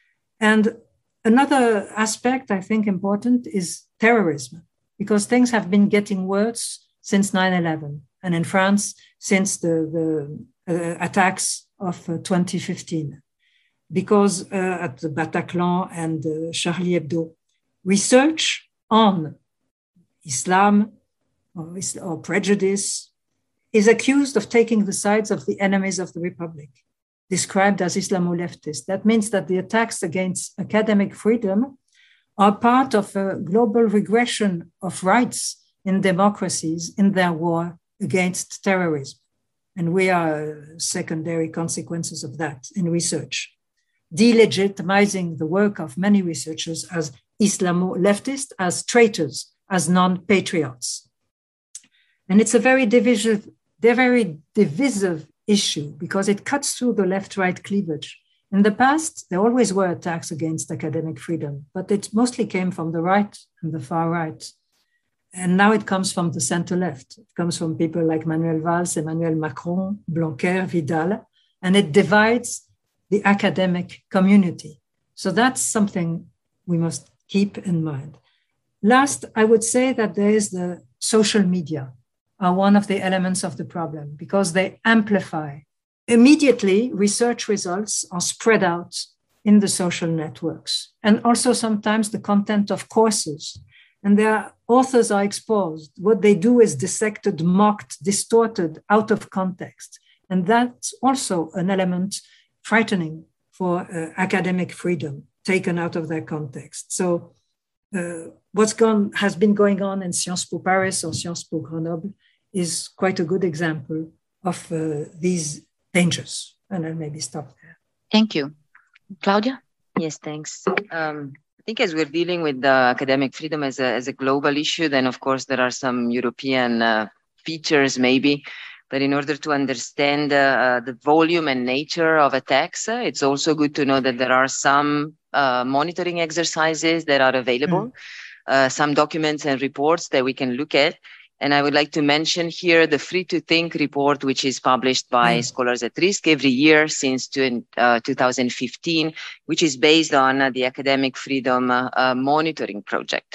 And another aspect I think important is terrorism, because things have been getting worse since nine eleven, and in France, since the, the uh, attacks of uh, twenty fifteen, because uh, at the Bataclan and uh, Charlie Hebdo, research on Islam or, or prejudice is accused of taking the sides of the enemies of the Republic, described as Islamo-leftist. That means that the attacks against academic freedom are part of a global regression of rights in democracies in their war against terrorism. And we are secondary consequences of that in research, delegitimizing the work of many researchers as Islamo-leftist, as traitors, as non-patriots. And it's a very divisive, they're very divisive issue because it cuts through the left-right cleavage. In the past, there always were attacks against academic freedom, but it mostly came from the right and the far right. And now it comes from the center-left. It comes from people like Manuel Valls, Emmanuel Macron, Blanquer, Vidal, and it divides the academic community. So that's something we must keep in mind. Last, I would say that there is the social media are one of the elements of the problem because they amplify. Immediately, research results are spread out in the social networks, and also sometimes the content of courses. And their authors are exposed. What they do is dissected, mocked, distorted, out of context. And that's also an element frightening for uh, academic freedom, taken out of their context. So uh, what's gone has been going on in Sciences Po Paris or Sciences Po Grenoble is quite a good example of uh, these dangers. And I'll maybe stop there. Thank you. Claudia? Yes, thanks. Um, I think as we're dealing with the academic freedom as a, as a global issue, then of course there are some European uh, features maybe, but in order to understand uh, the volume and nature of attacks, uh, it's also good to know that there are some uh, monitoring exercises that are available, mm. uh, some documents and reports that we can look at. And I would like to mention here the Free to Think report, which is published by mm. Scholars at Risk every year since two, uh, two thousand fifteen, which is based on uh, the Academic Freedom uh, uh, Monitoring Project.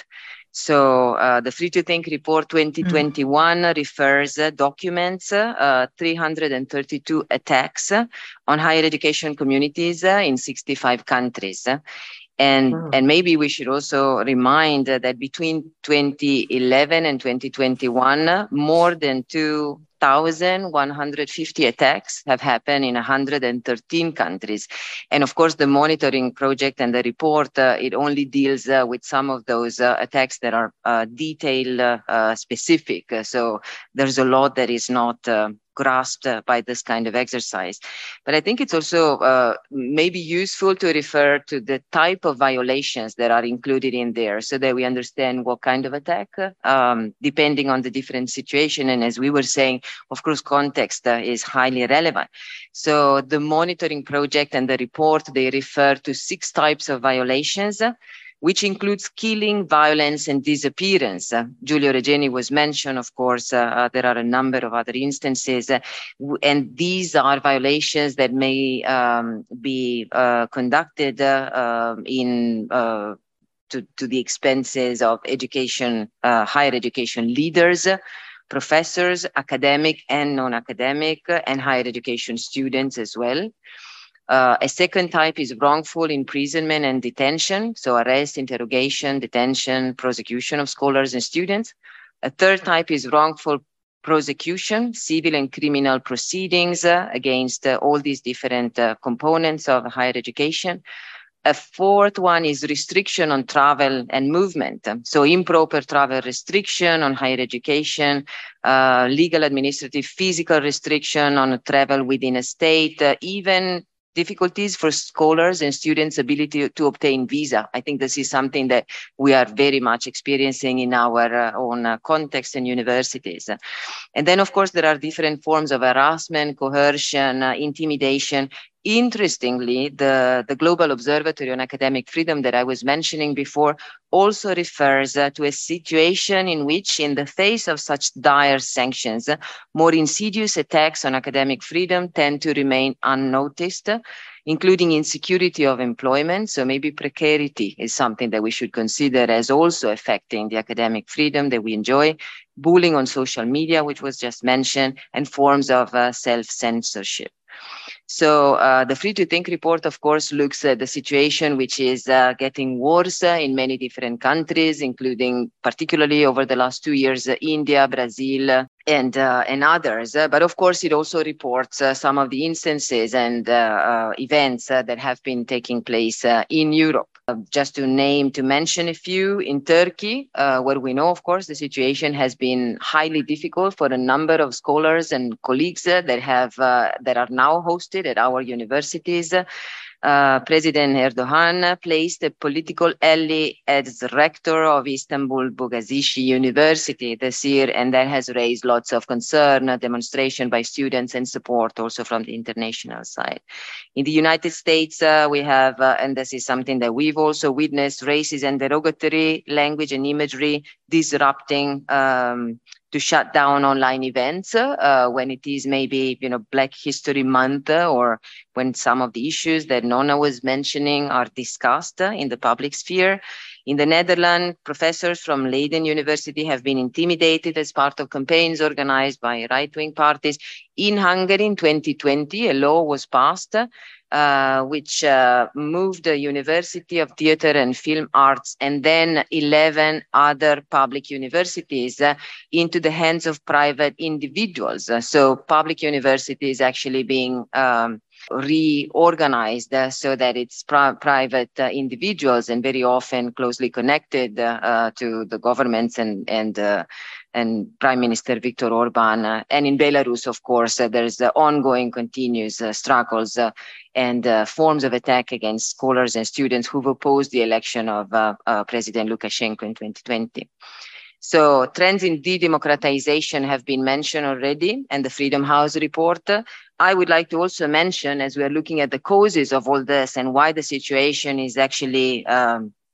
So uh, the Free to Think Report twenty twenty-one mm. refers, uh, documents uh, three hundred thirty-two attacks on higher education communities uh, in sixty-five countries. And, wow. and maybe we should also remind uh, that between twenty eleven and twenty twenty-one, uh, more than two thousand one hundred fifty attacks have happened in one hundred thirteen countries. And of course, the monitoring project and the report, uh, it only deals uh, with some of those uh, attacks that are uh, detail uh, uh, specific. Uh, so there's a lot that is not uh, grasped uh, by this kind of exercise. But I think it's also uh, maybe useful to refer to the type of violations that are included in there so that we understand what kind of attack, um, depending on the different situation. And as we were saying, of course, context uh, is highly relevant. So the monitoring project and the report, they refer to six types of violations, uh, which includes killing, violence, and disappearance. Uh, Giulio Regeni was mentioned, of course, uh, uh, there are a number of other instances, uh, and these are violations that may um, be uh, conducted uh, um, in uh, to, to the expenses of education, uh, higher education leaders, uh, professors, academic and non-academic, uh, and higher education students as well. Uh, a second type is wrongful imprisonment and detention, so arrest, interrogation, detention, prosecution of scholars and students. A third type is wrongful prosecution, civil and criminal proceedings uh, against uh, all these different uh, components of higher education. A fourth one is restriction on travel and movement. So improper travel restriction on higher education, uh, legal, administrative, physical restriction on travel within a state, uh, even difficulties for scholars and students' ability to obtain visa. I think this is something that we are very much experiencing in our uh, own uh, context and universities. And then, of course, there are different forms of harassment, coercion, uh, intimidation. Interestingly, the, the Global Observatory on Academic Freedom that I was mentioning before also refers uh, to a situation in which, in the face of such dire sanctions, uh, more insidious attacks on academic freedom tend to remain unnoticed, uh, including insecurity of employment. So maybe precarity is something that we should consider as also affecting the academic freedom that we enjoy, bullying on social media, which was just mentioned, and forms of uh, self-censorship. So uh, the Free to Think report, of course, looks at the situation which is uh, getting worse uh, in many different countries, including particularly over the last two years, uh, India, Brazil, uh, and uh, and others. Uh, but of course, it also reports uh, some of the instances and uh, uh, events uh, that have been taking place uh, in Europe. Uh, just to name, to mention a few, in Turkey, uh, where we know, of course, the situation has been highly difficult for a number of scholars and colleagues uh, that have uh, that are now hosted at our universities. Uh, President Erdogan placed a political ally as rector of Istanbul Bogazici University this year, and that has raised lots of concern, a demonstration by students, and support also from the international side. In the United States, uh, we have, uh, and this is something that we've also witnessed, racist and derogatory language and imagery disrupting um, to shut down online events uh, when it is maybe, you know, Black History Month, uh, or when some of the issues that Nonna was mentioning are discussed uh, in the public sphere. In the Netherlands, professors from Leiden University have been intimidated as part of campaigns organized by right-wing parties. In Hungary, in twenty twenty, a law was passed uh, which uh, moved the University of Theatre and Film Arts and then eleven other public universities uh, into the hands of private individuals. Uh, so public universities actually being um, reorganized uh, so that it's pri private uh, individuals, and very often closely connected uh, uh, to the governments and and uh, and Prime Minister Viktor Orban. Uh, and in Belarus, of course, uh, there's uh, ongoing continuous uh, struggles uh, and uh, forms of attack against scholars and students who've opposed the election of uh, uh, President Lukashenko in twenty twenty. So trends in de-democratization have been mentioned already, and the Freedom House report. I would like to also mention, as we are looking at the causes of all this and why the situation is actually um,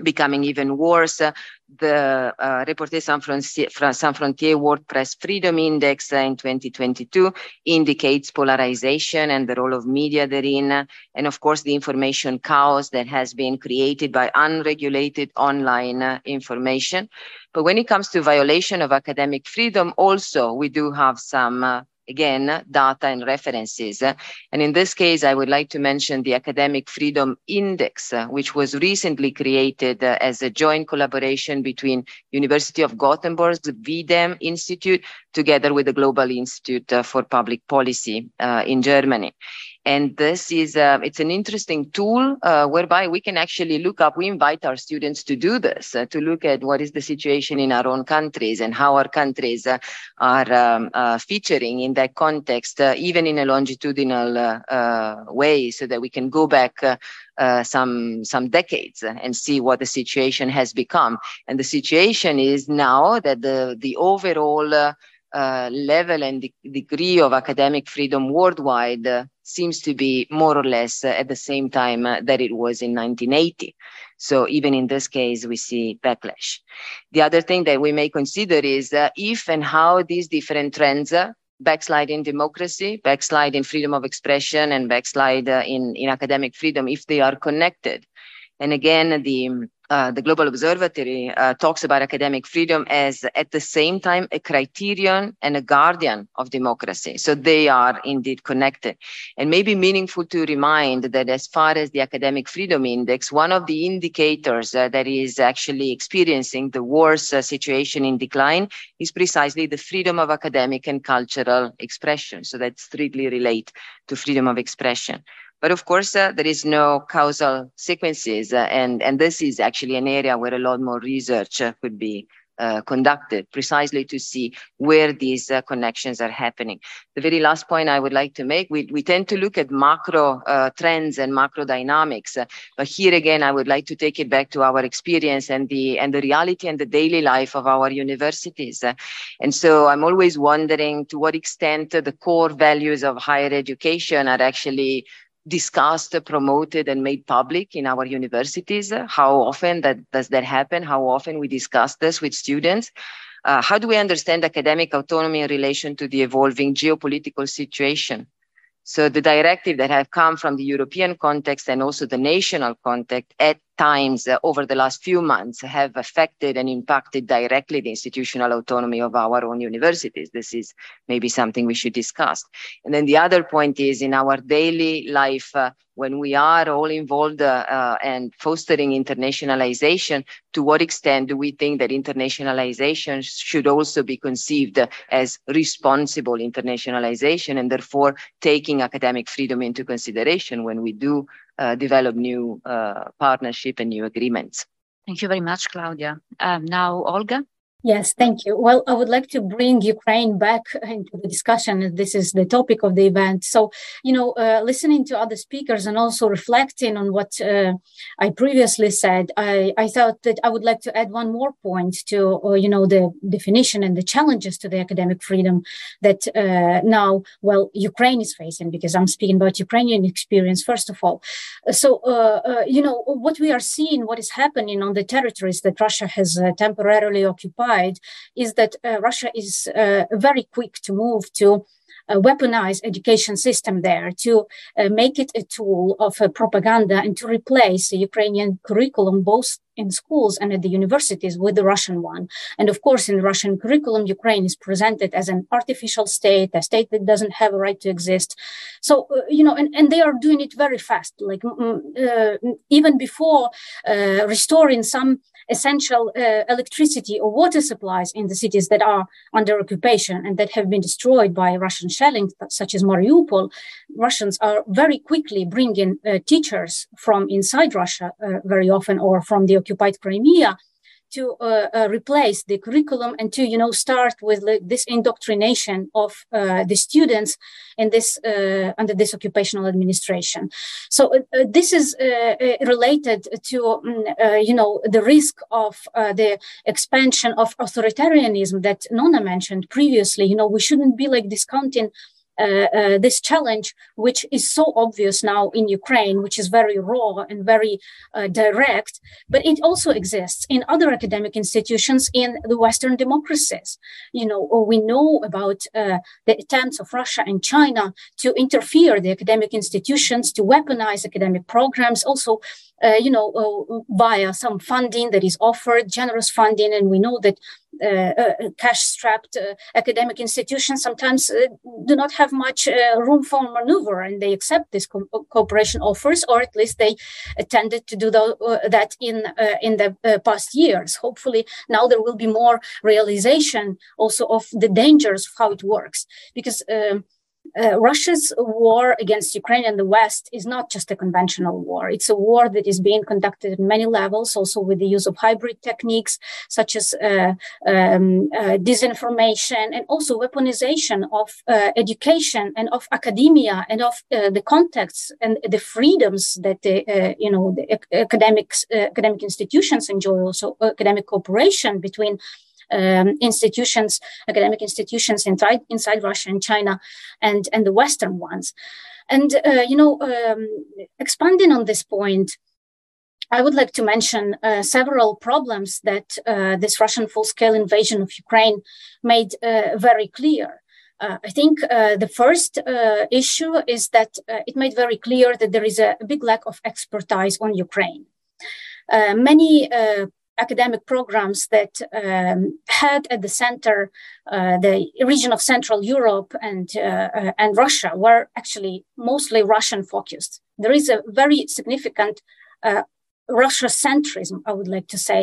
becoming even worse. Uh, the uh, Reporter Sans Frontier, Sans Frontier World Press Freedom Index uh, in twenty twenty-two indicates polarization and the role of media therein, uh, and of course the information chaos that has been created by unregulated online uh, information. But when it comes to violation of academic freedom, also we do have some uh, again, data and references. And in this case, I would like to mention the Academic Freedom Index, uh, which was recently created uh, as a joint collaboration between University of Gothenburg's V D E M Institute, together with the Global Institute uh, for Public Policy uh, in Germany. And this is, uh, it's an interesting tool uh, whereby we can actually look up, we invite our students to do this, uh, to look at what is the situation in our own countries and how our countries uh, are um, uh, featuring in that context, uh, even in a longitudinal uh, uh, way, so that we can go back uh, uh, some, some decades and see what the situation has become. And the situation is now that the, the overall uh, Uh, level and de degree of academic freedom worldwide uh, seems to be more or less uh, at the same time uh, that it was in nineteen eighty. So even in this case, we see backlash. The other thing that we may consider is uh, if and how these different trends, uh, backslide in democracy, backslide in freedom of expression, and backslide uh, in, in academic freedom, if they are connected. And again, the Uh, the Global Observatory uh, talks about academic freedom as at the same time a criterion and a guardian of democracy. So they are indeed connected. And maybe meaningful to remind that as far as the Academic Freedom Index, one of the indicators uh, that is actually experiencing the worst uh, situation in decline is precisely the freedom of academic and cultural expression. So that's strictly related to freedom of expression. But of course, uh, there is no causal sequences, uh, and, and this is actually an area where a lot more research uh, could be uh, conducted, precisely to see where these uh, connections are happening. The very last point I would like to make, we, we tend to look at macro uh, trends and macro dynamics, uh, but here again, I would like to take it back to our experience and the, and the reality and the daily life of our universities. Uh, and so I'm always wondering to what extent uh, the core values of higher education are actually discussed, promoted, and made public in our universities. How often that does that happen? How often we discuss this with students? Uh, how do we understand academic autonomy in relation to the evolving geopolitical situation? So the directive that have come from the European context and also the national context at times uh, over the last few months have affected and impacted directly the institutional autonomy of our own universities. This is maybe something we should discuss. And then the other point is in our daily life, uh, when we are all involved uh, uh, and fostering internationalization, to what extent do we think that internationalization should also be conceived as responsible internationalization and therefore taking academic freedom into consideration when we do uh, develop new uh, partnership and new agreements? Thank you very much, Claudia. Um, now, Olga. Yes, thank you. Well, I would like to bring Ukraine back into the discussion. This is the topic of the event. So, you know, uh, listening to other speakers and also reflecting on what uh, I previously said, I, I thought that I would like to add one more point to, uh, you know, the definition and the challenges to the academic freedom that uh, now, well, Ukraine is facing, because I'm speaking about Ukrainian experience, first of all. So, uh, uh, you know, what we are seeing, what is happening on the territories that Russia has uh, temporarily occupied, is that uh, Russia is uh, very quick to move to uh, weaponize education system there, to uh, make it a tool of uh, propaganda and to replace the Ukrainian curriculum both in schools and at the universities with the Russian one. And of course, in the Russian curriculum, Ukraine is presented as an artificial state, a state that doesn't have a right to exist. So, uh, you know, and, and they are doing it very fast, like uh, even before uh, restoring some essential uh, electricity or water supplies in the cities that are under occupation and that have been destroyed by Russian shelling, such as Mariupol. Russians are very quickly bringing uh, teachers from inside Russia uh, very often, or from the occupied Crimea, to uh, uh, replace the curriculum and to, you know, start with like, this indoctrination of uh, the students in this uh, under this occupational administration. So uh, this is uh, related to, uh, you know, the risk of uh, the expansion of authoritarianism that Nona mentioned previously. You know, we shouldn't be like discounting uh, uh, this challenge, which is so obvious now in Ukraine, which is very raw and very uh, direct, but it also exists in other academic institutions in the Western democracies. You know, or we know about uh, the attempts of Russia and China to interfere the academic institutions, to weaponize academic programs, also, uh, you know, uh, via some funding that is offered, generous funding, and we know that Uh, uh, cash-strapped uh, academic institutions sometimes uh, do not have much uh, room for maneuver, and they accept these co cooperation offers, or at least they uh, tended to do the, uh, that in uh, in the uh, past years. Hopefully, now there will be more realization also of the dangers of how it works, because um, Uh, Russia's war against Ukraine and the West is not just a conventional war. It's a war that is being conducted at many levels, also with the use of hybrid techniques, such as uh, um, uh, disinformation, and also weaponization of uh, education and of academia and of uh, the contexts and the freedoms that the, uh, you know, the academics, uh, academic institutions enjoy, also academic cooperation between Um, institutions, academic institutions inside, inside Russia and China, and, and the Western ones. And, uh, you know, um, expanding on this point, I would like to mention uh, several problems that uh, this Russian full-scale invasion of Ukraine made uh, very clear. Uh, I think uh, the first uh, issue is that uh, it made very clear that there is a, a big lack of expertise on Ukraine. Uh, many uh, academic programs that um, had at the center uh, the region of Central Europe and, uh, uh, and Russia were actually mostly Russian focused. There is a very significant uh, Russia-centrism, I would like to say,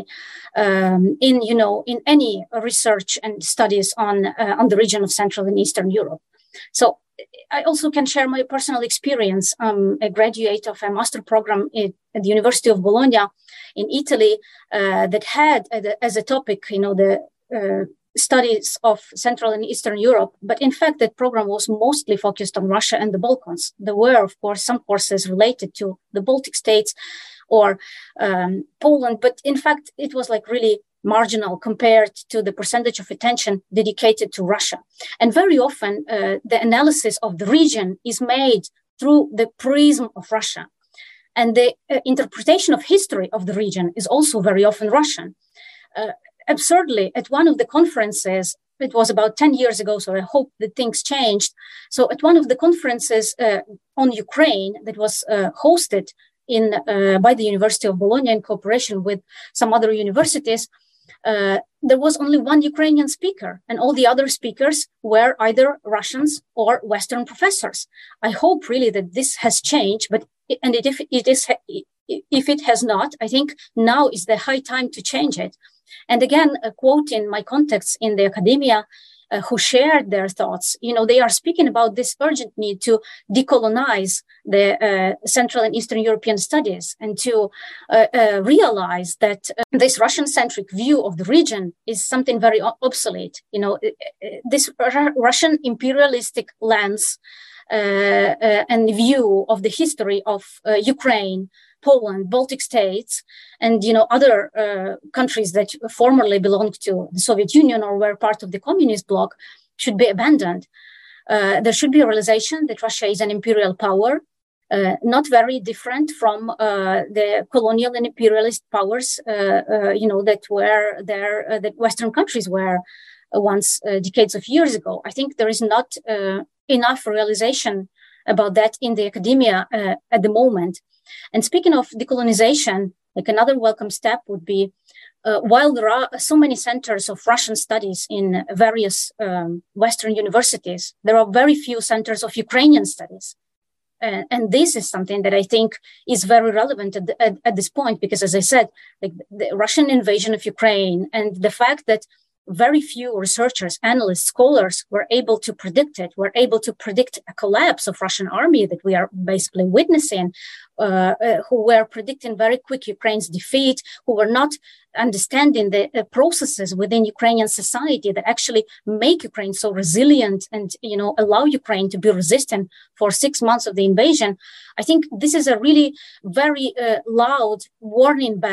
um, in, you know, in any research and studies on, uh, on the region of Central and Eastern Europe. So I also can share my personal experience. I'm a graduate of a master program at, at the University of Bologna in Italy uh, that had as a topic, you know, the uh, studies of Central and Eastern Europe. But in fact, that program was mostly focused on Russia and the Balkans. There were, of course, some courses related to the Baltic states or um, Poland, but in fact, it was like really marginal compared to the percentage of attention dedicated to Russia. And very often, uh, the analysis of the region is made through the prism of Russia. And the uh, interpretation of history of the region is also very often Russian. Uh, absurdly, at one of the conferences, it was about ten years ago, so I hope that things changed. So at one of the conferences uh, on Ukraine that was uh, hosted in uh, by the University of Bologna in cooperation with some other universities, Uh, there was only one Ukrainian speaker, and all the other speakers were either Russians or Western professors. I hope really that this has changed, but and it, if it is, if it has not, I think now is the high time to change it. And again, a quote in my contacts in the academia uh, who shared their thoughts, you know, they are speaking about this urgent need to decolonize the uh, Central and Eastern European studies and to uh, uh, realize that uh, this Russian-centric view of the region is something very obsolete. You know, this Russian imperialistic lens uh, uh, and view of the history of uh, Ukraine, Poland, Baltic states, and, you know, other uh, countries that formerly belonged to the Soviet Union or were part of the communist bloc should be abandoned. Uh, there should be a realization that Russia is an imperial power, uh, not very different from uh, the colonial and imperialist powers, uh, uh, you know, that were there, uh, that Western countries were uh, once uh, decades of years ago. I think there is not uh, enough realization about that in the academia uh, at the moment. And speaking of decolonization, like another welcome step would be, uh, while there are so many centers of Russian studies in various um, Western universities, there are very few centers of Ukrainian studies. Uh, and this is something that I think is very relevant at, the, at, at this point, because as I said, like the Russian invasion of Ukraine and the fact that very few researchers, analysts, scholars were able to predict it, were able to predict a collapse of Russian army that we are basically witnessing, uh, uh, who were predicting very quick Ukraine's defeat, who were not understanding the uh, processes within Ukrainian society that actually make Ukraine so resilient and, you know, allow Ukraine to be resistant for six months of the invasion. I think this is a really very uh, loud warning bell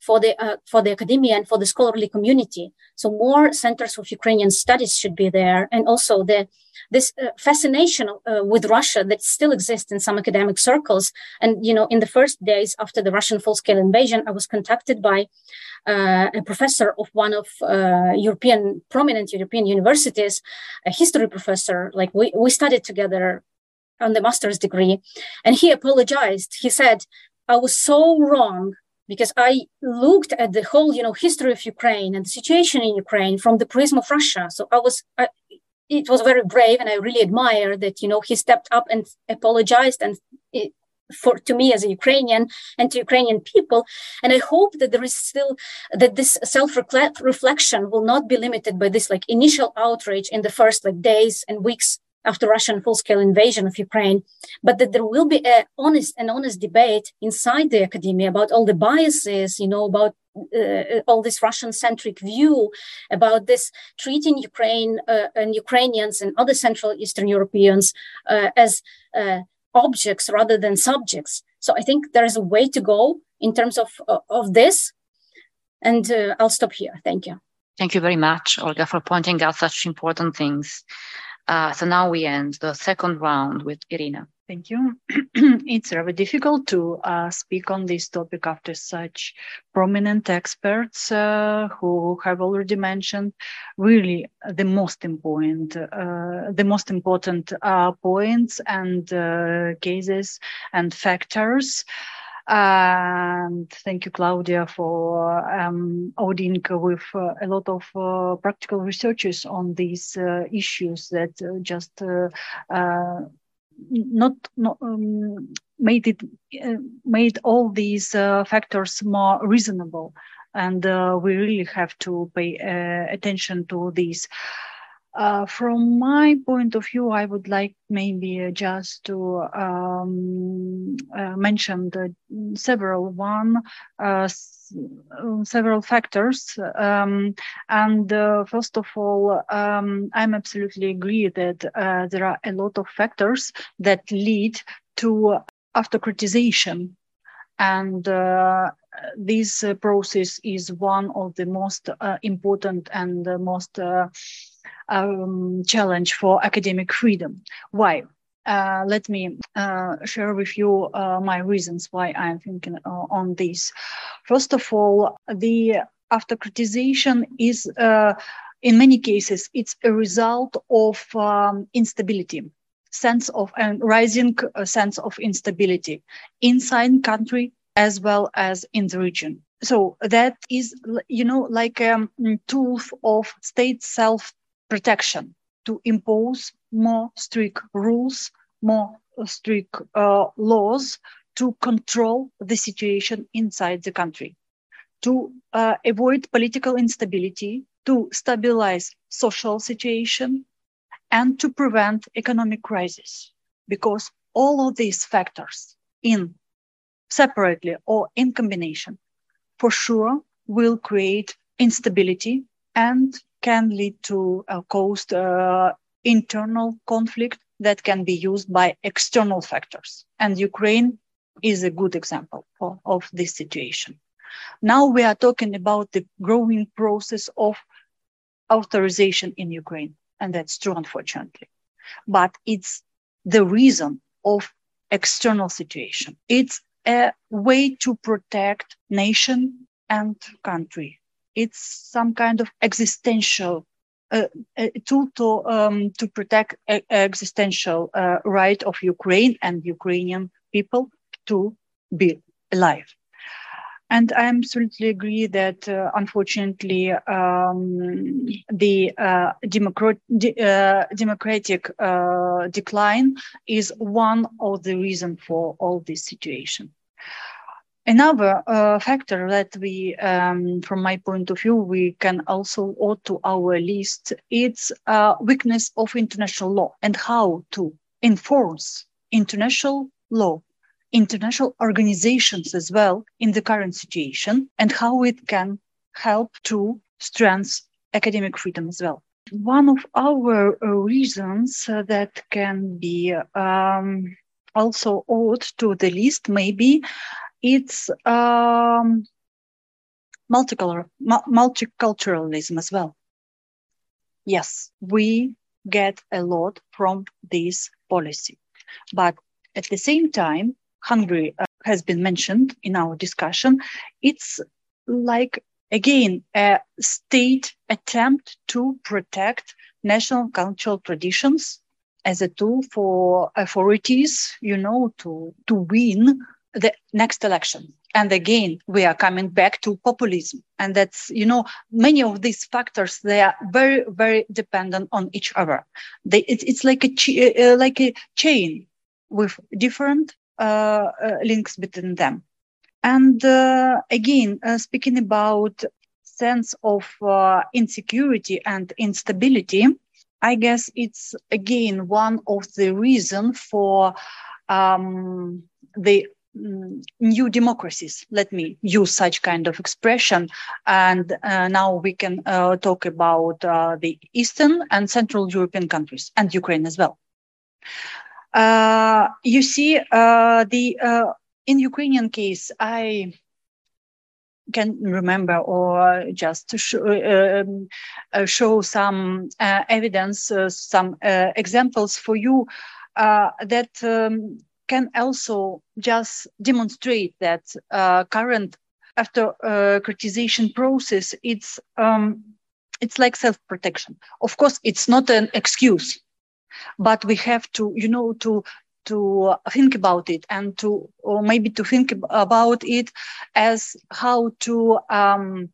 for the uh, for the academia and for the scholarly community. So more centers of Ukrainian studies should be there, and also the this uh, fascination uh, with Russia that still exists in some academic circles. And you know, in the first days after the Russian full-scale invasion, I was contacted by uh, a professor of one of uh, European prominent European universities, a history professor. Like we we studied together on the master's degree, and he apologized. He said, "I was so wrong." Because I looked at the whole, you know, history of Ukraine and the situation in Ukraine from the prism of Russia. So I was, I, it was very brave, and I really admire that, you know, he stepped up and apologized, and it, for to me as a Ukrainian and to Ukrainian people. And I hope that there is still that this self-reflection will not be limited by this like initial outrage in the first like days and weeks after Russian full-scale invasion of Ukraine, but that there will be a honest and honest debate inside the academia about all the biases, you know, about uh, all this Russian-centric view, about this treating Ukraine uh, and Ukrainians and other Central Eastern Europeans uh, as uh, objects rather than subjects. So I think there is a way to go in terms of, uh, of this. And uh, I'll stop here. Thank you. Thank you very much, Olga, for pointing out such important things. Uh, so now we end the second round with Irina. Thank you. It's very difficult to uh, speak on this topic after such prominent experts uh, who have already mentioned really the most important, uh, the most important uh, points and uh, cases and factors. And thank you, Claudia, for um, auding with uh, a lot of uh, practical researches on these uh, issues that uh, just uh, uh, not, not um, made it uh, made all these uh, factors more reasonable, and uh, we really have to pay uh, attention to these. Uh, from my point of view, I would like maybe uh, just to um, uh, mention the several one, uh, s- several factors. Um, and uh, first of all, um, I'm absolutely agree that uh, there are a lot of factors that lead to autocratization. And uh, this uh, process is one of the most uh, important and the most uh, Um, challenge for academic freedom. Why? Uh, let me uh, share with you uh, my reasons why I'm thinking uh, on this. First of all, the autocratization is, uh, in many cases, it's a result of um, instability, sense of a rising uh, sense of instability inside the country as well as in the region. So that is, you know, like a um, tool of state self protection to impose more strict rules, more strict uh, laws to control the situation inside the country, to uh, avoid political instability, to stabilize social situation, and to prevent economic crisis. Because all of these factors, in separately or in combination, for sure will create instability and can lead to a caused uh, internal conflict that can be used by external factors. And Ukraine is a good example for, of this situation. Now we are talking about the growing process of authorization in Ukraine. And that's true, unfortunately. But it's the reason of external situation. It's a way to protect nation and country. It's some kind of existential uh, tool to um, to protect a, a existential uh, right of Ukraine and Ukrainian people to be alive. And I absolutely agree that, uh, unfortunately, um, the uh, democrat, de- uh, democratic uh, decline is one of the reasons for all this situation. Another uh, factor that we, um, from my point of view, we can also add to our list, it's uh, weakness of international law and how to enforce international law, international organizations as well in the current situation, and how it can help to strengthen academic freedom as well. One of our uh, reasons uh, that can be um, also added to the list maybe it's um, multicultural, multiculturalism as well. Yes, we get a lot from this policy. But at the same time, Hungary uh, has been mentioned in our discussion. It's like, again, a state attempt to protect national cultural traditions as a tool for authorities, you know, to, to win the next election. And again, we are coming back to populism. And that's, you know, many of these factors, they are very, very dependent on each other. They, it, it's like a, ch- uh, like a chain with different uh, uh, links between them. And uh, again, uh, speaking about sense of uh, insecurity and instability, I guess it's, again, one of the reasons for um, the new democracies. Let me use such kind of expression. And uh, now we can uh, talk about uh, the Eastern and Central European countries and Ukraine as well. Uh, you see, uh, the uh, in Ukrainian case, I can remember or just to show, uh, uh, show some uh, evidence, uh, some uh, examples for you uh, that um, can also just demonstrate that uh, current after uh, criticization process, it's um, it's like self-protection. Of course, it's not an excuse, but we have to, you know, to to think about it and to, or maybe to think about it as how to um,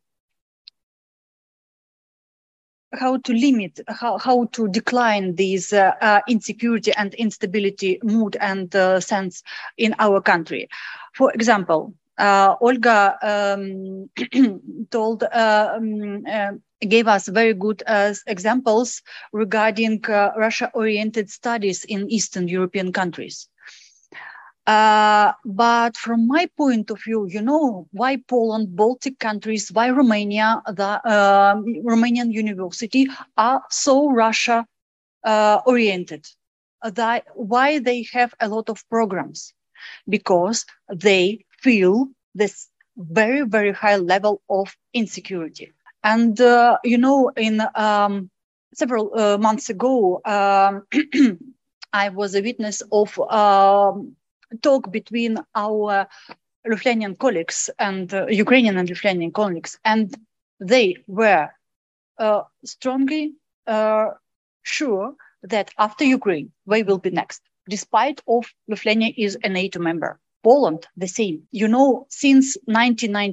how to limit, how, how to decline these uh, uh, insecurity and instability mood and uh, sense in our country. For example, uh, Olga um, told, uh, um, uh, gave us very good uh, examples regarding uh, Russia-oriented studies in Eastern European countries. Uh, but from my point of view, you know, why Poland, Baltic countries, why Romania, the uh, Romanian university are so Russia uh, oriented? That, why they have a lot of programs? Because they feel this very, very high level of insecurity. And, uh, you know, in um, several uh, months ago, um, I was a witness of um, talk between our Lithuanian colleagues and uh, Ukrainian and Lithuanian colleagues, and they were uh, strongly uh, sure that after Ukraine, they will be next, despite of Lithuania is a NATO member. Poland, the same. You know, since nineteen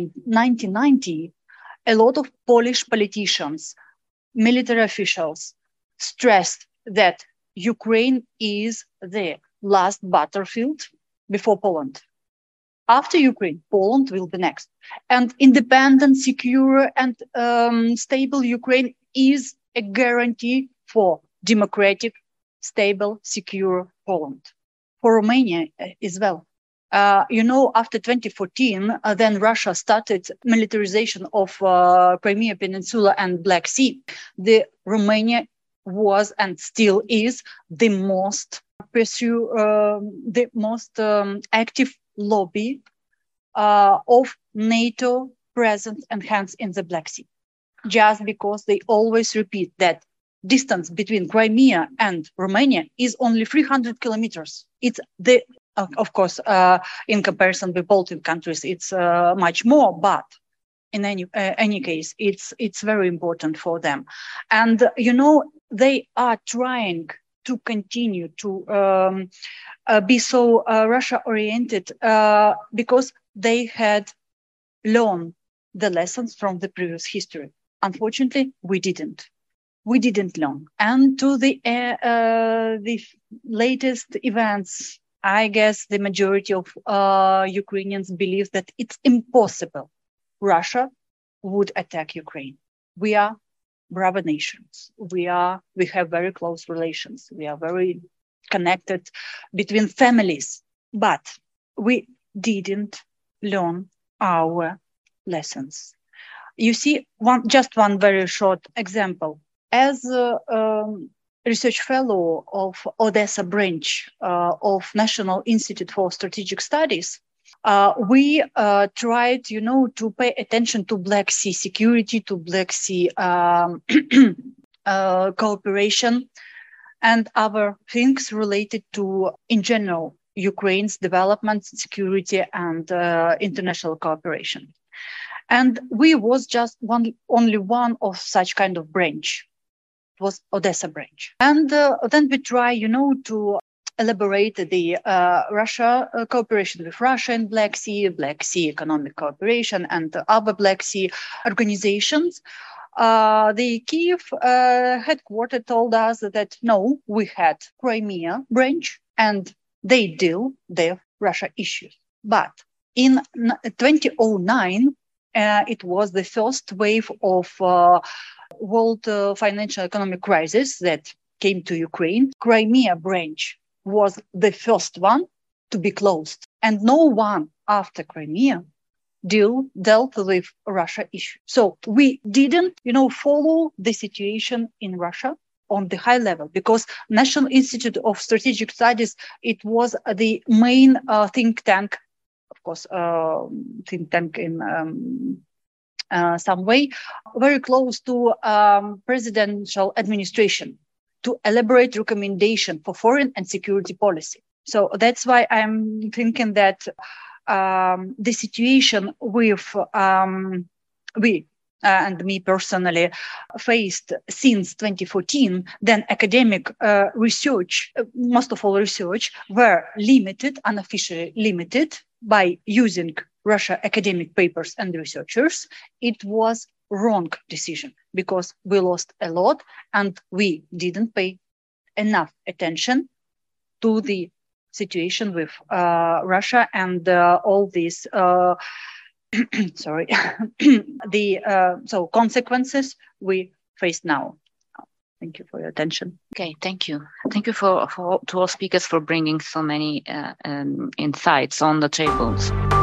ninety, a lot of Polish politicians, military officials stressed that Ukraine is the last battlefield before Poland. After Ukraine, Poland will be next. And independent, secure, and um, stable Ukraine is a guarantee for democratic, stable, secure Poland. For Romania as well. Uh, you know, after twenty fourteen, uh, then Russia started militarization of uh, Crimea Peninsula and Black Sea. The Romania was and still is the most pursue uh, the most um, active lobby uh, of NATO presence and hands in the Black Sea, just because they always repeat that distance between Crimea and Romania is only three hundred kilometers. It's the uh, of course uh, in comparison with Baltic countries, it's uh, much more, but in any uh, any case, it's it's very important for them, and uh, you know. They are trying to continue to um, uh, be so uh, Russia-oriented uh, because they had learned the lessons from the previous history. Unfortunately, we didn't. We didn't learn. And to the uh, uh, the latest events, I guess the majority of uh, Ukrainians believe that it's impossible Russia would attack Ukraine. We are brother nations. We are, we have very close relations. We are very connected between families, but we didn't learn our lessons. You see, one, just one very short example. As a um, research fellow of Odessa branch uh, of National Institute for Strategic Studies, Uh, we uh, tried, you know, to pay attention to Black Sea security, to Black Sea um, uh, cooperation, and other things related to, in general, Ukraine's development, security, and uh, international cooperation. And we was just one, only one of such kind of branch. It was Odessa branch. And uh, then we try, you know, to elaborate the uh, Russia uh, cooperation with Russia and Black Sea, Black Sea economic cooperation, and other Black Sea organizations. Uh, the Kiev uh, headquarters told us that no, we had Crimea branch and they deal with Russia issues. But in twenty oh nine, uh, it was the first wave of uh, world uh, financial economic crisis that came to Ukraine. Crimea branch was the first one to be closed, and no one after Crimea deal dealt with Russia issue. So we didn't, you know, follow the situation in Russia on the high level, because National Institute of Strategic Studies, it was the main uh, think tank, of course, uh, think tank in um, uh, some way, very close to um, presidential administration to elaborate recommendation for foreign and security policy. So that's why I'm thinking that Um, the situation with um, we uh, and me personally faced since twenty fourteen, then academic uh, research, uh, most of all research, were limited, unofficially limited by using Russia academic papers and researchers. It was wrong decision because we lost a lot and we didn't pay enough attention to the situation with uh, Russia and uh, all these, uh, sorry, the uh, so consequences we face now. Thank you for your attention. Okay, thank you. Thank you for, for to all speakers for bringing so many uh, um, insights on the tables.